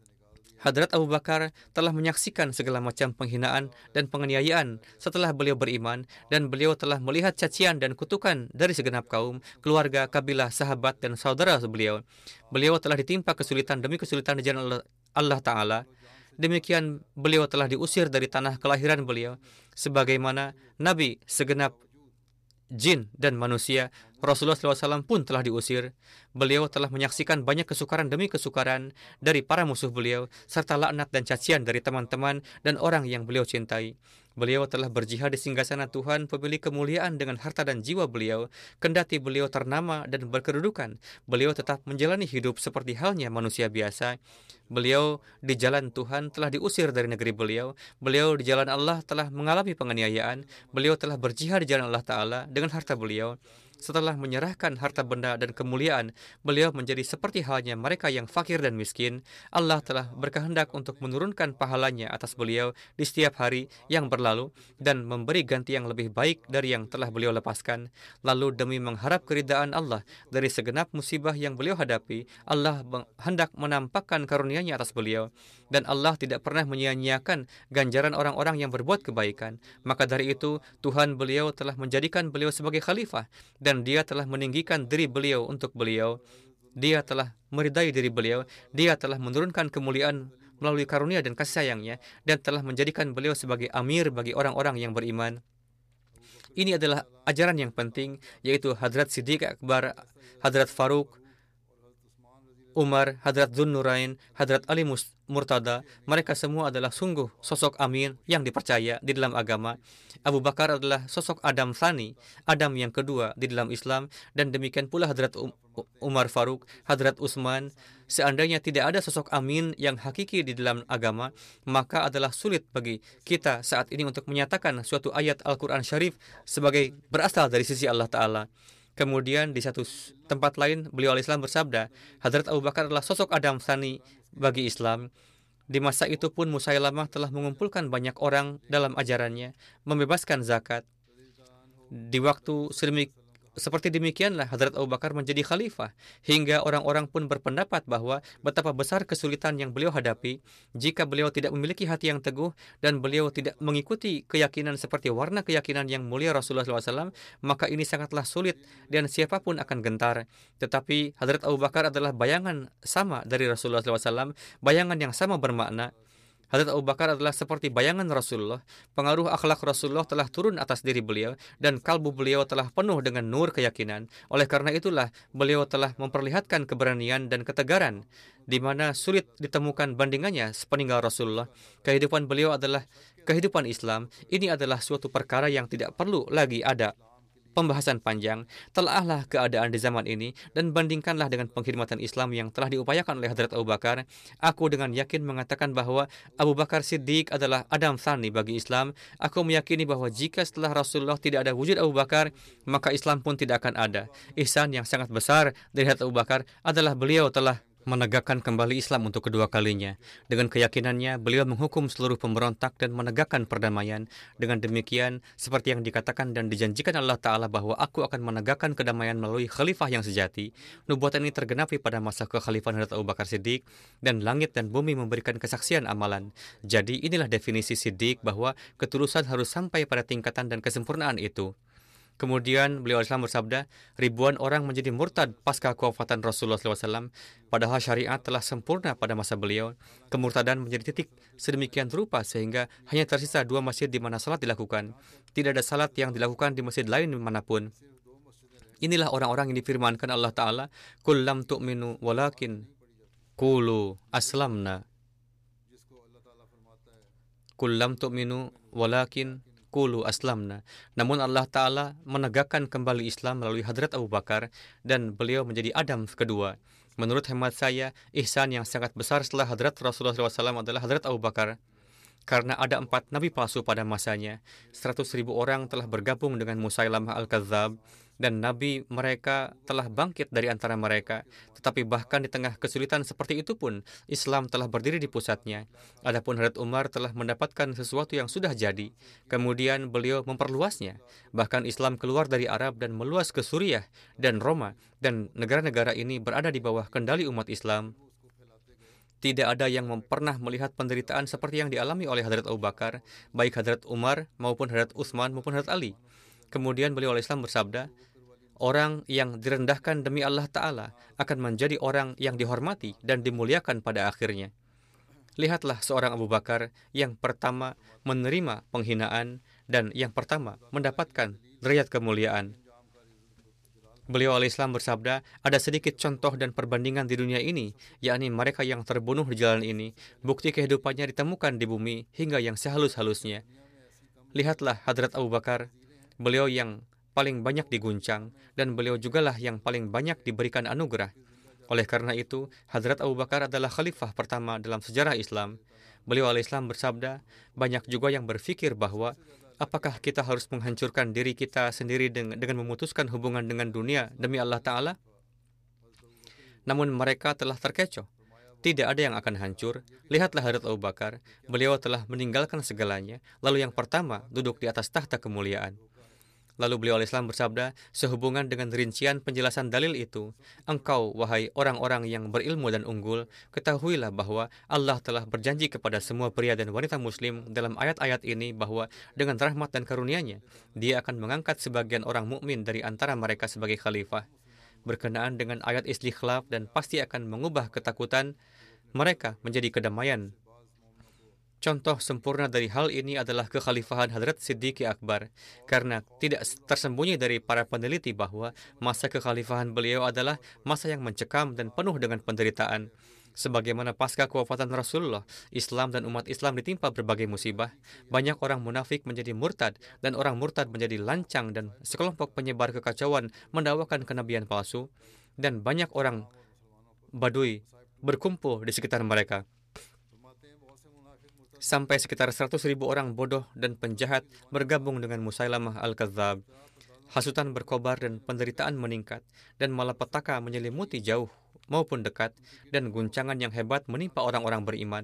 Hadrat Abu Bakar telah menyaksikan segala macam penghinaan dan penganiayaan setelah beliau beriman, dan beliau telah melihat cacian dan kutukan dari segenap kaum, keluarga, kabilah, sahabat, dan saudara beliau. Beliau telah ditimpa kesulitan demi kesulitan di jalan Allah, Allah Ta'ala. Demikian beliau telah diusir dari tanah kelahiran beliau. Sebagaimana Nabi, segenap jin dan manusia, Rasulullah shallallahu alaihi wasallam pun telah diusir. Beliau telah menyaksikan banyak kesukaran demi kesukaran dari para musuh beliau, serta laknat dan cacian dari teman-teman dan orang yang beliau cintai. Beliau telah berjihad di singgasana Tuhan, pemilik kemuliaan, dengan harta dan jiwa beliau. Kendati beliau ternama dan berkedudukan, beliau tetap menjalani hidup seperti halnya manusia biasa. Beliau di jalan Tuhan telah diusir dari negeri beliau. Beliau di jalan Allah telah mengalami penganiayaan. Beliau telah berjihad di jalan Allah Ta'ala dengan harta beliau. Setelah menyerahkan harta benda dan kemuliaan, beliau menjadi seperti halnya mereka yang fakir dan miskin. Allah telah berkehendak untuk menurunkan pahalanya atas beliau di setiap hari yang berlalu dan memberi ganti yang lebih baik dari yang telah beliau lepaskan. Lalu demi mengharap keridaan Allah dari segenap musibah yang beliau hadapi, Allah hendak menampakkan karunia-Nya atas beliau, dan Allah tidak pernah menyia-nyiakan ganjaran orang-orang yang berbuat kebaikan. Maka dari itu, Tuhan beliau telah menjadikan beliau sebagai khalifah, dan Dia telah meninggikan diri beliau untuk beliau. Dia telah meridai diri beliau. Dia telah menurunkan kemuliaan melalui karunia dan kasih sayangnya, dan telah menjadikan beliau sebagai amir bagi orang-orang yang beriman. Ini adalah ajaran yang penting, yaitu Hadrat Siddiq Akbar, Hadrat Faruq, Umar, Hadrat Dzun Nurain, Hadrat Ali Murtada. Mereka semua adalah sungguh sosok amin yang dipercaya di dalam agama. Abu Bakar adalah sosok Adam Tsani, Adam yang kedua di dalam Islam, dan demikian pula Hadrat Umar Faruq, Hadrat Utsman. Seandainya tidak ada sosok amin yang hakiki di dalam agama, maka adalah sulit bagi kita saat ini untuk menyatakan suatu ayat Al-Quran Syarif sebagai berasal dari sisi Allah Ta'ala. Kemudian di satu tempat lain beliau alaihissalam bersabda, Hadrat Abu Bakar adalah sosok Adam Tsani bagi Islam. Di masa itu pun Musailamah telah mengumpulkan banyak orang dalam ajarannya, membebaskan zakat. Di waktu sedemik seperti demikianlah Hadrat Abu Bakar menjadi khalifah, hingga orang-orang pun berpendapat bahwa betapa besar kesulitan yang beliau hadapi jika beliau tidak memiliki hati yang teguh dan beliau tidak mengikuti keyakinan seperti warna keyakinan yang mulia Rasulullah shallallahu alaihi wasallam, maka ini sangatlah sulit dan siapapun akan gentar. Tetapi Hadrat Abu Bakar adalah bayangan sama dari Rasulullah shallallahu alaihi wasallam, bayangan yang sama bermakna. Hadrat Abu Bakar adalah seperti bayangan Rasulullah. Pengaruh akhlak Rasulullah telah turun atas diri beliau dan kalbu beliau telah penuh dengan nur keyakinan. Oleh karena itulah beliau telah memperlihatkan keberanian dan ketegaran di mana sulit ditemukan bandingannya sepeninggal Rasulullah. Kehidupan beliau adalah kehidupan Islam. Ini adalah suatu perkara yang tidak perlu lagi ada pembahasan panjang. Telahlah keadaan di zaman ini dan bandingkanlah dengan pengkhidmatan Islam yang telah diupayakan oleh Hadrat Abu Bakar. Aku dengan yakin mengatakan bahwa Abu Bakar Siddiq adalah Adam Tsani bagi Islam. Aku meyakini bahwa jika setelah Rasulullah tidak ada wujud Abu Bakar, maka Islam pun tidak akan ada. Ihsan yang sangat besar dari Hadrat Abu Bakar adalah beliau telah menegakkan kembali Islam untuk kedua kalinya. Dengan keyakinannya, beliau menghukum seluruh pemberontak dan menegakkan perdamaian. Dengan demikian, seperti yang dikatakan dan dijanjikan Allah Ta'ala bahwa aku akan menegakkan kedamaian melalui khalifah yang sejati, nubuatan ini tergenapi pada masa kekhalifahan Hadrat Abu Bakar Siddiq, dan langit dan bumi memberikan kesaksian amalan. Jadi inilah definisi Siddiq, bahwa ketulusan harus sampai pada tingkatan dan kesempurnaan itu. Kemudian beliau Islam bersabda, ribuan orang menjadi murtad pasca kewafatan Rasulullah shallallahu alaihi wasallam, padahal syariat telah sempurna pada masa beliau. Kemurtadan menjadi titik sedemikian rupa sehingga hanya tersisa dua masjid di mana salat dilakukan. Tidak ada salat yang dilakukan di masjid lain dimanapun. Inilah orang-orang yang difirmankan Allah Ta'ala, Qul lam tu'minu walakin qulu aslamna. Qul lam tu'minu walakin Qulu aslamna. Namun Allah Ta'ala menegakkan kembali Islam melalui Hadrat Abu Bakar dan beliau menjadi Adam kedua. Menurut hemat saya, ihsan yang sangat besar setelah Hadrat Rasulullah shallallahu alaihi wasallam adalah Hadrat Abu Bakar. Karena ada empat nabi palsu pada masanya, seratus ribu orang telah bergabung dengan Musailamah Al-Kadzab, dan nabi mereka telah bangkit dari antara mereka. Tetapi bahkan di tengah kesulitan seperti itu pun, Islam telah berdiri di pusatnya. Adapun Hadrat Umar telah mendapatkan sesuatu yang sudah jadi, kemudian beliau memperluasnya. Bahkan Islam keluar dari Arab dan meluas ke Suriah dan Roma, dan negara-negara ini berada di bawah kendali umat Islam. Tidak ada yang pernah melihat penderitaan seperti yang dialami oleh Hadrat Abu Bakar, baik Hadrat Umar maupun Hadrat Utsman maupun Hadrat Ali. Kemudian beliau Islam bersabda, orang yang direndahkan demi Allah Ta'ala akan menjadi orang yang dihormati dan dimuliakan pada akhirnya. Lihatlah seorang Abu Bakar yang pertama menerima penghinaan dan yang pertama mendapatkan derajat kemuliaan. Beliau al-Islam bersabda, ada sedikit contoh dan perbandingan di dunia ini, yakni mereka yang terbunuh di jalan ini, bukti kehidupannya ditemukan di bumi hingga yang sehalus-halusnya. Lihatlah Hadrat Abu Bakar, beliau yang paling banyak diguncang, dan beliau jugalah yang paling banyak diberikan anugerah. Oleh karena itu, Hadrat Abu Bakar adalah khalifah pertama dalam sejarah Islam. Beliau al-Islam bersabda, banyak juga yang berfikir bahwa apakah kita harus menghancurkan diri kita sendiri dengan, dengan memutuskan hubungan dengan dunia demi Allah Ta'ala? Namun mereka telah terkecoh. Tidak ada yang akan hancur. Lihatlah Hadrat Abu Bakar. Beliau telah meninggalkan segalanya. Lalu yang pertama duduk di atas tahta kemuliaan. Lalu beliau al-Islam bersabda, sehubungan dengan rincian penjelasan dalil itu, engkau, wahai orang-orang yang berilmu dan unggul, ketahuilah bahwa Allah telah berjanji kepada semua pria dan wanita muslim dalam ayat-ayat ini bahwa dengan rahmat dan karunia-Nya, Dia akan mengangkat sebagian orang mukmin dari antara mereka sebagai khalifah. Berkenaan dengan ayat istikhlaf dan pasti akan mengubah ketakutan mereka menjadi kedamaian. Contoh sempurna dari hal ini adalah kekhalifahan Hadrat Siddiq Akbar, karena tidak tersembunyi dari para peneliti bahwa masa kekhalifahan beliau adalah masa yang mencekam dan penuh dengan penderitaan. Sebagaimana pasca kewafatan Rasulullah, Islam dan umat Islam ditimpa berbagai musibah. Banyak orang munafik menjadi murtad, dan orang murtad menjadi lancang, dan sekelompok penyebar kekacauan mendakwakan kenabian palsu, dan banyak orang Badui berkumpul di sekitar mereka. Sampai sekitar seratus ribu orang bodoh dan penjahat bergabung dengan Musailamah Al-Kadzab. Hasutan berkobar dan penderitaan meningkat, dan malapetaka menyelimuti jauh maupun dekat, dan guncangan yang hebat menimpa orang-orang beriman.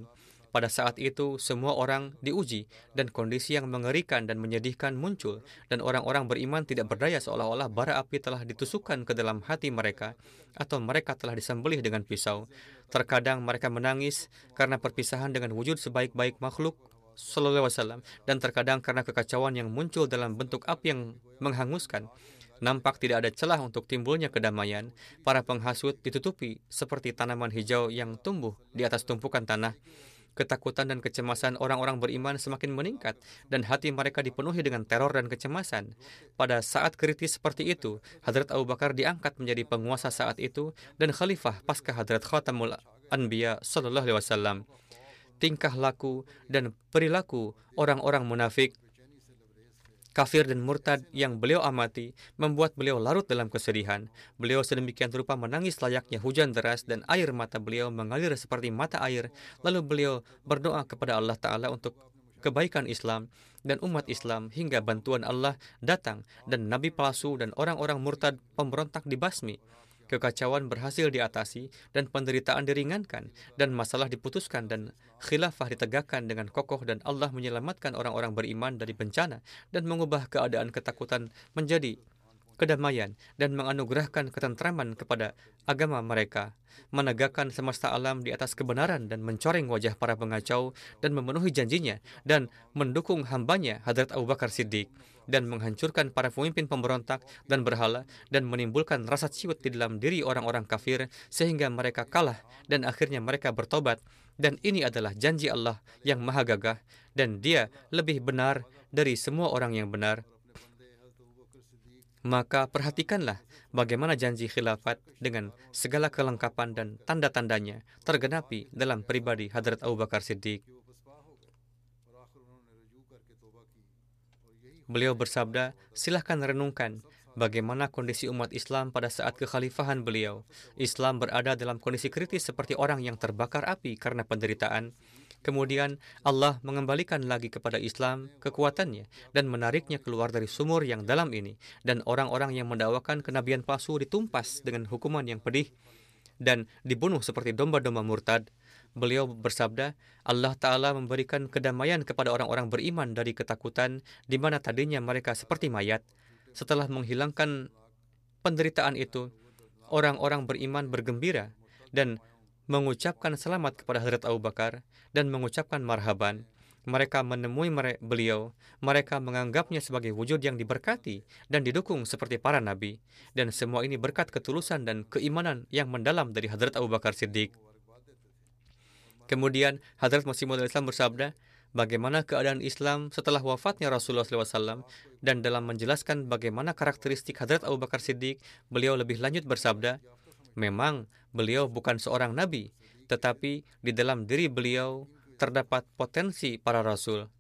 Pada saat itu, semua orang diuji, dan kondisi yang mengerikan dan menyedihkan muncul, dan orang-orang beriman tidak berdaya seolah-olah bara api telah ditusukkan ke dalam hati mereka, atau mereka telah disembelih dengan pisau. Terkadang mereka menangis karena perpisahan dengan wujud sebaik-baik makhluk, Sallallahu Alaihi Wasallam, dan terkadang karena kekacauan yang muncul dalam bentuk api yang menghanguskan. Nampak tidak ada celah untuk timbulnya kedamaian. Para penghasut ditutupi seperti tanaman hijau yang tumbuh di atas tumpukan tanah. Ketakutan dan kecemasan orang-orang beriman semakin meningkat, dan hati mereka dipenuhi dengan teror dan kecemasan. Pada saat kritis seperti itu, Hadrat Abu Bakar diangkat menjadi penguasa saat itu dan khalifah pasca Hadrat Khatamul Anbiya Sallallahu Alaihi Wasallam. Tingkah laku dan perilaku orang-orang munafik, kafir dan murtad yang beliau amati membuat beliau larut dalam kesedihan. Beliau sedemikian rupa menangis layaknya hujan deras, dan air mata beliau mengalir seperti mata air. Lalu beliau berdoa kepada Allah Ta'ala untuk kebaikan Islam dan umat Islam hingga bantuan Allah datang dan nabi palsu dan orang-orang murtad pemberontak dibasmi. Kekacauan berhasil diatasi dan penderitaan diringankan, dan masalah diputuskan dan khilafah ditegakkan dengan kokoh, dan Allah menyelamatkan orang-orang beriman dari bencana dan mengubah keadaan ketakutan menjadi kedamaian dan menganugerahkan ketentraman kepada agama mereka, menegakkan semesta alam di atas kebenaran dan mencoreng wajah para pengacau dan memenuhi janjinya dan mendukung hambanya Hadrat Abu Bakar Siddiq, dan menghancurkan para pemimpin pemberontak dan berhala dan menimbulkan rasa ciut di dalam diri orang-orang kafir sehingga mereka kalah dan akhirnya mereka bertobat. Dan ini adalah janji Allah yang maha gagah, dan dia lebih benar dari semua orang yang benar. Maka perhatikanlah bagaimana janji khilafat dengan segala kelengkapan dan tanda-tandanya tergenapi dalam pribadi Hadrat Abu Bakar Siddiq. Beliau bersabda, silahkan renungkan bagaimana kondisi umat Islam pada saat kekhalifahan beliau. Islam berada dalam kondisi kritis seperti orang yang terbakar api karena penderitaan. Kemudian Allah mengembalikan lagi kepada Islam kekuatannya dan menariknya keluar dari sumur yang dalam ini. Dan orang-orang yang mendakwakan kenabian palsu ditumpas dengan hukuman yang pedih dan dibunuh seperti domba-domba murtad. Beliau bersabda, Allah Ta'ala memberikan kedamaian kepada orang-orang beriman dari ketakutan, di mana tadinya mereka seperti mayat. Setelah menghilangkan penderitaan itu, orang-orang beriman bergembira dan mengucapkan selamat kepada Hadrat Abu Bakar dan mengucapkan marhaban. Mereka menemui beliau, mereka menganggapnya sebagai wujud yang diberkati dan didukung seperti para nabi. Dan semua ini berkat ketulusan dan keimanan yang mendalam dari Hadrat Abu Bakar Siddiq. Kemudian Hadrat Masih Maud Islam bersabda, bagaimana keadaan Islam setelah wafatnya Rasulullah shallallahu alaihi wasallam, dan dalam menjelaskan bagaimana karakteristik Hadrat Abu Bakar Siddiq, beliau lebih lanjut bersabda, memang beliau bukan seorang nabi, tetapi di dalam diri beliau terdapat potensi para rasul.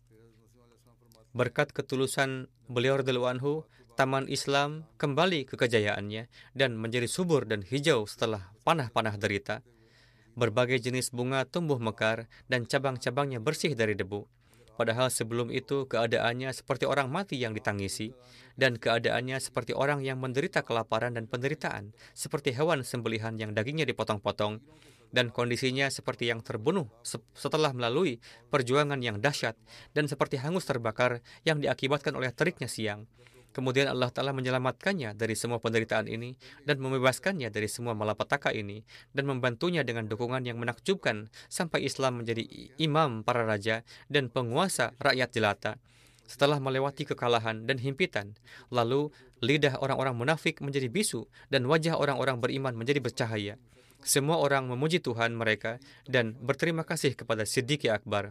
Berkat ketulusan beliau radhiyallahu anhu, taman Islam kembali ke kejayaannya dan menjadi subur dan hijau setelah panah-panah derita. Berbagai jenis bunga tumbuh mekar dan cabang-cabangnya bersih dari debu. Padahal sebelum itu keadaannya seperti orang mati yang ditangisi, dan keadaannya seperti orang yang menderita kelaparan dan penderitaan, seperti hewan sembelihan yang dagingnya dipotong-potong, dan kondisinya seperti yang terbunuh setelah melalui perjuangan yang dahsyat, dan seperti hangus terbakar yang diakibatkan oleh teriknya siang. Kemudian Allah Ta'ala menyelamatkannya dari semua penderitaan ini dan membebaskannya dari semua malapetaka ini dan membantunya dengan dukungan yang menakjubkan sampai Islam menjadi imam para raja dan penguasa rakyat jelata. Setelah melewati kekalahan dan himpitan, lalu lidah orang-orang munafik menjadi bisu dan wajah orang-orang beriman menjadi bercahaya. Semua orang memuji Tuhan mereka dan berterima kasih kepada Siddiq Akbar.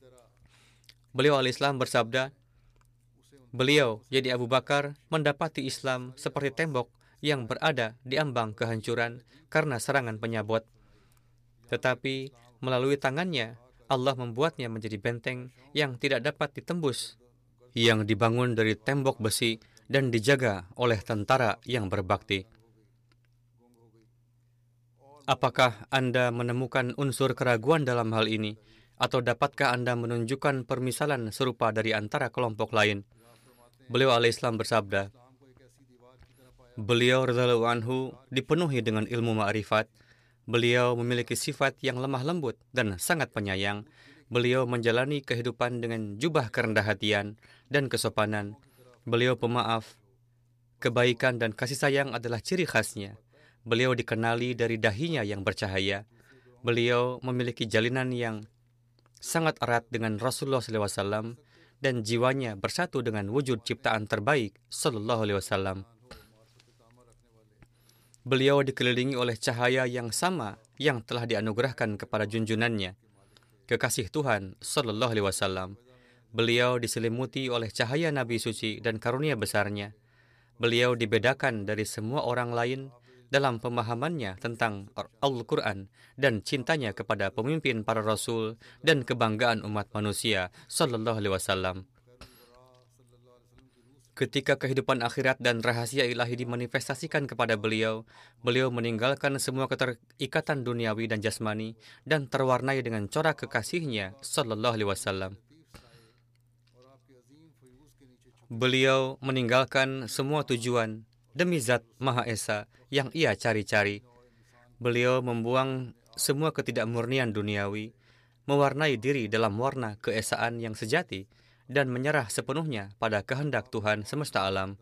Beliau al-Islam bersabda, beliau, yaitu Abu Bakar, mendapati Islam seperti tembok yang berada di ambang kehancuran karena serangan penyabot. Tetapi melalui tangannya, Allah membuatnya menjadi benteng yang tidak dapat ditembus, yang dibangun dari tembok besi dan dijaga oleh tentara yang berbakti. Apakah Anda menemukan unsur keraguan dalam hal ini? Atau dapatkah Anda menunjukkan permisalan serupa dari antara kelompok lain? Beliau al-Islam bersabda, beliau radhiyallahu anhu dipenuhi dengan ilmu ma'rifat. Beliau memiliki sifat yang lemah lembut dan sangat penyayang. Beliau menjalani kehidupan dengan jubah kerendah hatian dan kesopanan. Beliau pemaaf. Kebaikan dan kasih sayang adalah ciri khasnya. Beliau dikenali dari dahinya yang bercahaya. Beliau memiliki jalinan yang sangat erat dengan Rasulullah shallallahu alaihi wasallam dan jiwanya bersatu dengan wujud ciptaan terbaik sallallahu alaihi wasallam. Beliau dikelilingi oleh cahaya yang sama yang telah dianugerahkan kepada junjunannya, kekasih Tuhan sallallahu alaihi wasallam. Beliau diselimuti oleh cahaya Nabi suci dan karunia besarnya. Beliau dibedakan dari semua orang lain dalam pemahamannya tentang Al-Quran dan cintanya kepada pemimpin para rasul dan kebanggaan umat manusia sallallahu alaihi wasallam. Ketika kehidupan akhirat dan rahasia ilahi dimanifestasikan kepada beliau, beliau meninggalkan semua keterikatan duniawi dan jasmani dan terwarnai dengan corak kekasihnya sallallahu alaihi wasallam. Beliau meninggalkan semua tujuan demi zat Maha Esa yang ia cari-cari. Beliau membuang semua ketidakmurnian duniawi, mewarnai diri dalam warna keesaan yang sejati, dan menyerah sepenuhnya pada kehendak Tuhan semesta alam.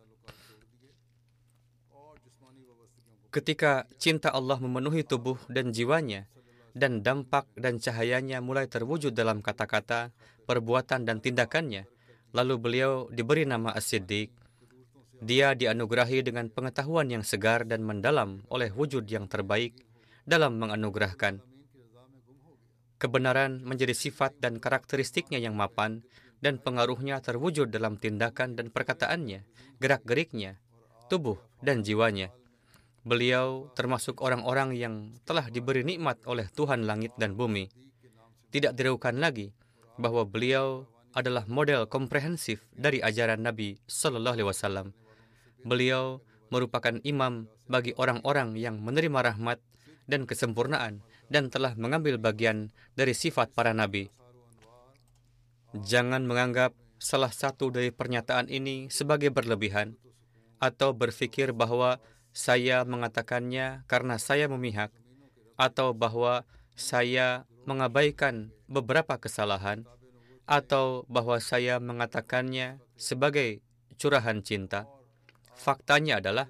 Ketika cinta Allah memenuhi tubuh dan jiwanya, dan dampak dan cahayanya mulai terwujud dalam kata-kata, perbuatan, dan tindakannya, lalu beliau diberi nama As-Siddiq. Dia dianugerahi dengan pengetahuan yang segar dan mendalam oleh wujud yang terbaik dalam menganugerahkan. Kebenaran menjadi sifat dan karakteristiknya yang mapan, dan pengaruhnya terwujud dalam tindakan dan perkataannya, gerak-geriknya, tubuh, dan jiwanya. Beliau termasuk orang-orang yang telah diberi nikmat oleh Tuhan langit dan bumi. Tidak diragukan lagi bahwa beliau adalah model komprehensif dari ajaran Nabi sallallahu alaihi wasallam. Beliau merupakan imam bagi orang-orang yang menerima rahmat dan kesempurnaan dan telah mengambil bagian dari sifat para nabi. Jangan menganggap salah satu dari pernyataan ini sebagai berlebihan atau berpikir bahwa saya mengatakannya karena saya memihak atau bahwa saya mengabaikan beberapa kesalahan atau bahwa saya mengatakannya sebagai curahan cinta. Faktanya adalah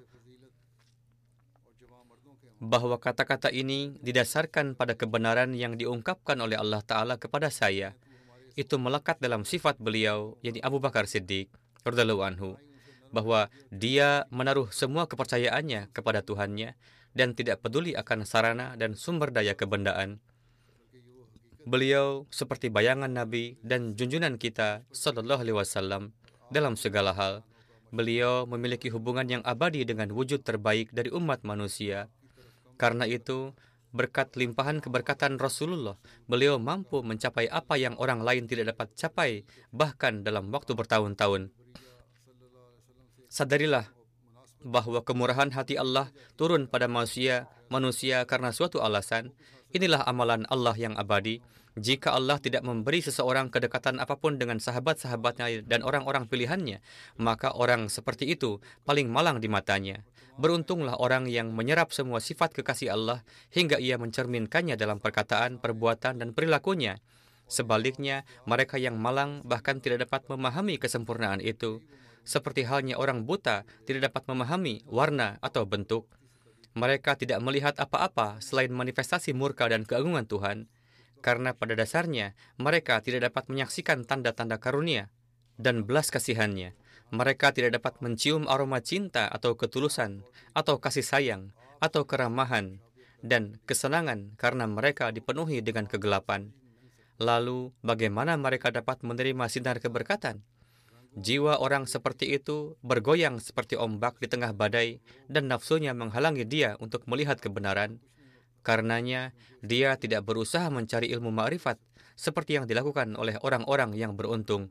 bahwa kata-kata ini didasarkan pada kebenaran yang diungkapkan oleh Allah Ta'ala kepada saya. Itu melekat dalam sifat beliau, yakni Abu Bakar Siddiq radhiyallahu anhu, bahwa dia menaruh semua kepercayaannya kepada Tuhannya dan tidak peduli akan sarana dan sumber daya kebendaan. Beliau seperti bayangan Nabi dan junjunan kita sallallahu alaihi wasallam dalam segala hal. Beliau memiliki hubungan yang abadi dengan wujud terbaik dari umat manusia. Karena itu, berkat limpahan keberkatan Rasulullah, beliau mampu mencapai apa yang orang lain tidak dapat capai, bahkan dalam waktu bertahun-tahun. Sadarilah bahwa kemurahan hati Allah turun pada manusia, manusia karena suatu alasan. Inilah amalan Allah yang abadi. Jika Allah tidak memberi seseorang kedekatan apapun dengan sahabat-sahabatnya dan orang-orang pilihannya, maka orang seperti itu paling malang di matanya. Beruntunglah orang yang menyerap semua sifat kekasih Allah hingga ia mencerminkannya dalam perkataan, perbuatan, dan perilakunya. Sebaliknya, mereka yang malang bahkan tidak dapat memahami kesempurnaan itu. Seperti halnya orang buta tidak dapat memahami warna atau bentuk. Mereka tidak melihat apa-apa selain manifestasi murka dan keagungan Tuhan. Karena pada dasarnya, mereka tidak dapat menyaksikan tanda-tanda karunia dan belas kasihannya. Mereka tidak dapat mencium aroma cinta atau ketulusan, atau kasih sayang, atau keramahan, dan kesenangan karena mereka dipenuhi dengan kegelapan. Lalu, bagaimana mereka dapat menerima sinar keberkatan? Jiwa orang seperti itu bergoyang seperti ombak di tengah badai, dan nafsunya menghalangi dia untuk melihat kebenaran. Karenanya, dia tidak berusaha mencari ilmu ma'rifat seperti yang dilakukan oleh orang-orang yang beruntung.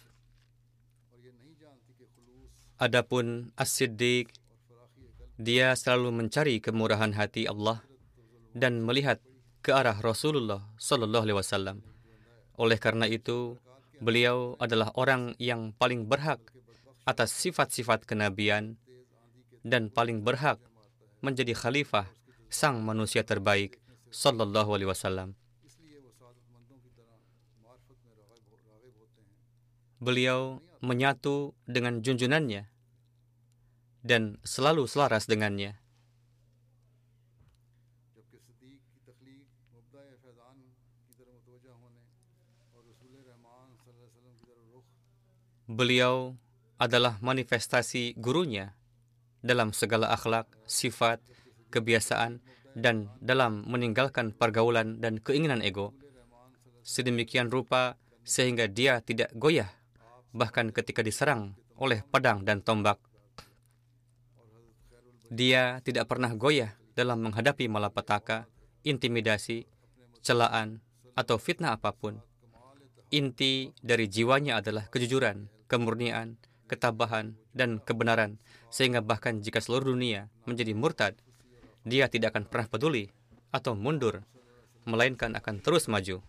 Adapun As-Siddiq, dia selalu mencari kemurahan hati Allah dan melihat ke arah Rasulullah sallallahu alaihi wasallam. Oleh karena itu, beliau adalah orang yang paling berhak atas sifat-sifat kenabian dan paling berhak menjadi khalifah sang manusia terbaik sallallahu alaihi wasallam. beliau menyatu dengan junjunannya dan selalu selaras dengannya. Beliau adalah manifestasi gurunya dalam segala akhlak, sifat, kebiasaan, dan dalam meninggalkan pergaulan dan keinginan ego. Sedemikian rupa sehingga dia tidak goyah, bahkan ketika diserang oleh pedang dan tombak. Dia tidak pernah goyah dalam menghadapi malapetaka, intimidasi, celaan, atau fitnah apapun. Inti dari jiwanya adalah kejujuran, kemurnian, ketabahan, dan kebenaran, sehingga bahkan jika seluruh dunia menjadi murtad, dia tidak akan pernah peduli atau mundur, melainkan akan terus maju.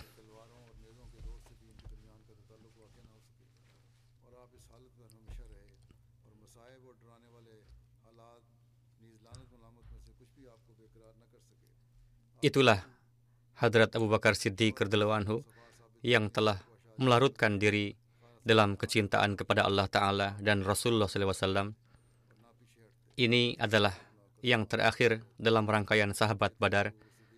Itulah Hadrat Abu Bakar Siddiq radhiyallahu anhu yang telah melarutkan diri dalam kecintaan kepada Allah Ta'ala dan Rasulullah shallallahu alaihi wasallam. Ini adalah yang terakhir dalam rangkaian sahabat Badar.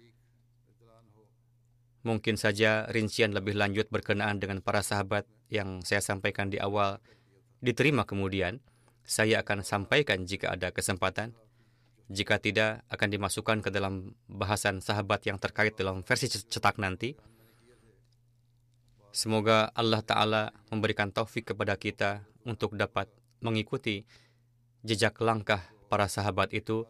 Mungkin saja rincian lebih lanjut berkenaan dengan para sahabat yang saya sampaikan di awal diterima kemudian. Saya akan sampaikan jika ada kesempatan. Jika tidak, akan dimasukkan ke dalam bahasan sahabat yang terkait dalam versi cetak nanti. Semoga Allah Ta'ala memberikan taufik kepada kita untuk dapat mengikuti jejak langkah para sahabat itu.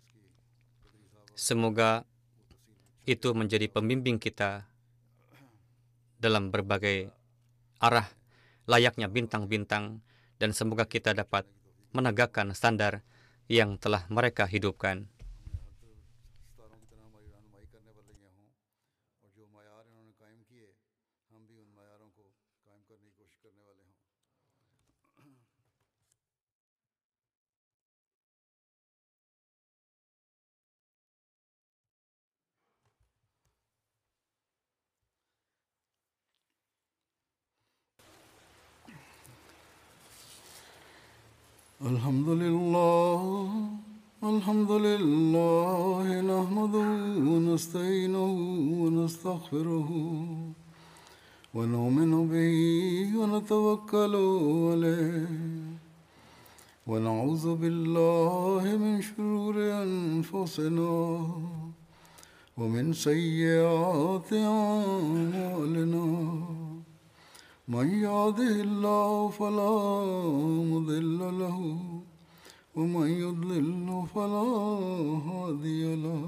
Semoga itu menjadi pembimbing kita dalam berbagai arah layaknya bintang-bintang, dan semoga kita dapat menegakkan standar yang telah mereka hidupkan. Alhamdulillah, alhamdulillah, nahmaduhu wa nasta'inuhu wa nastaghfiruhu wa nu'minu bihi wa natawakkalu alayhi wa na'udzu billahi min shururi anfusina wa min sayyiati a'malina. من يهده الله فلا مضل له ومن يضلل فلا هادي له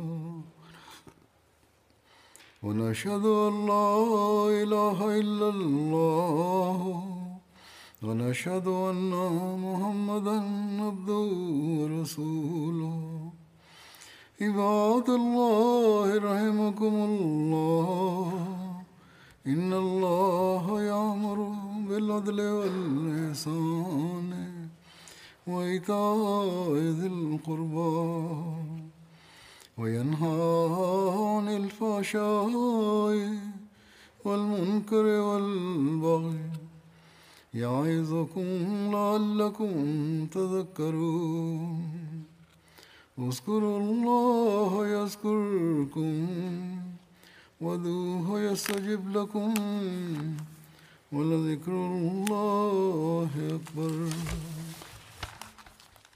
ونشهد أن لا إله إلا الله ونشهد أن محمدا عبده ورسوله عباد الله رحمكم الله إن الله يأمر بالعدل والإحسان وإيتاء ذي القربى وينهى عن الفحشاء والمنكر والبغي يعظكم لعلكم تذكرون اذكروا الله يذكركم وادعوه يستجب لكم ولذكر الله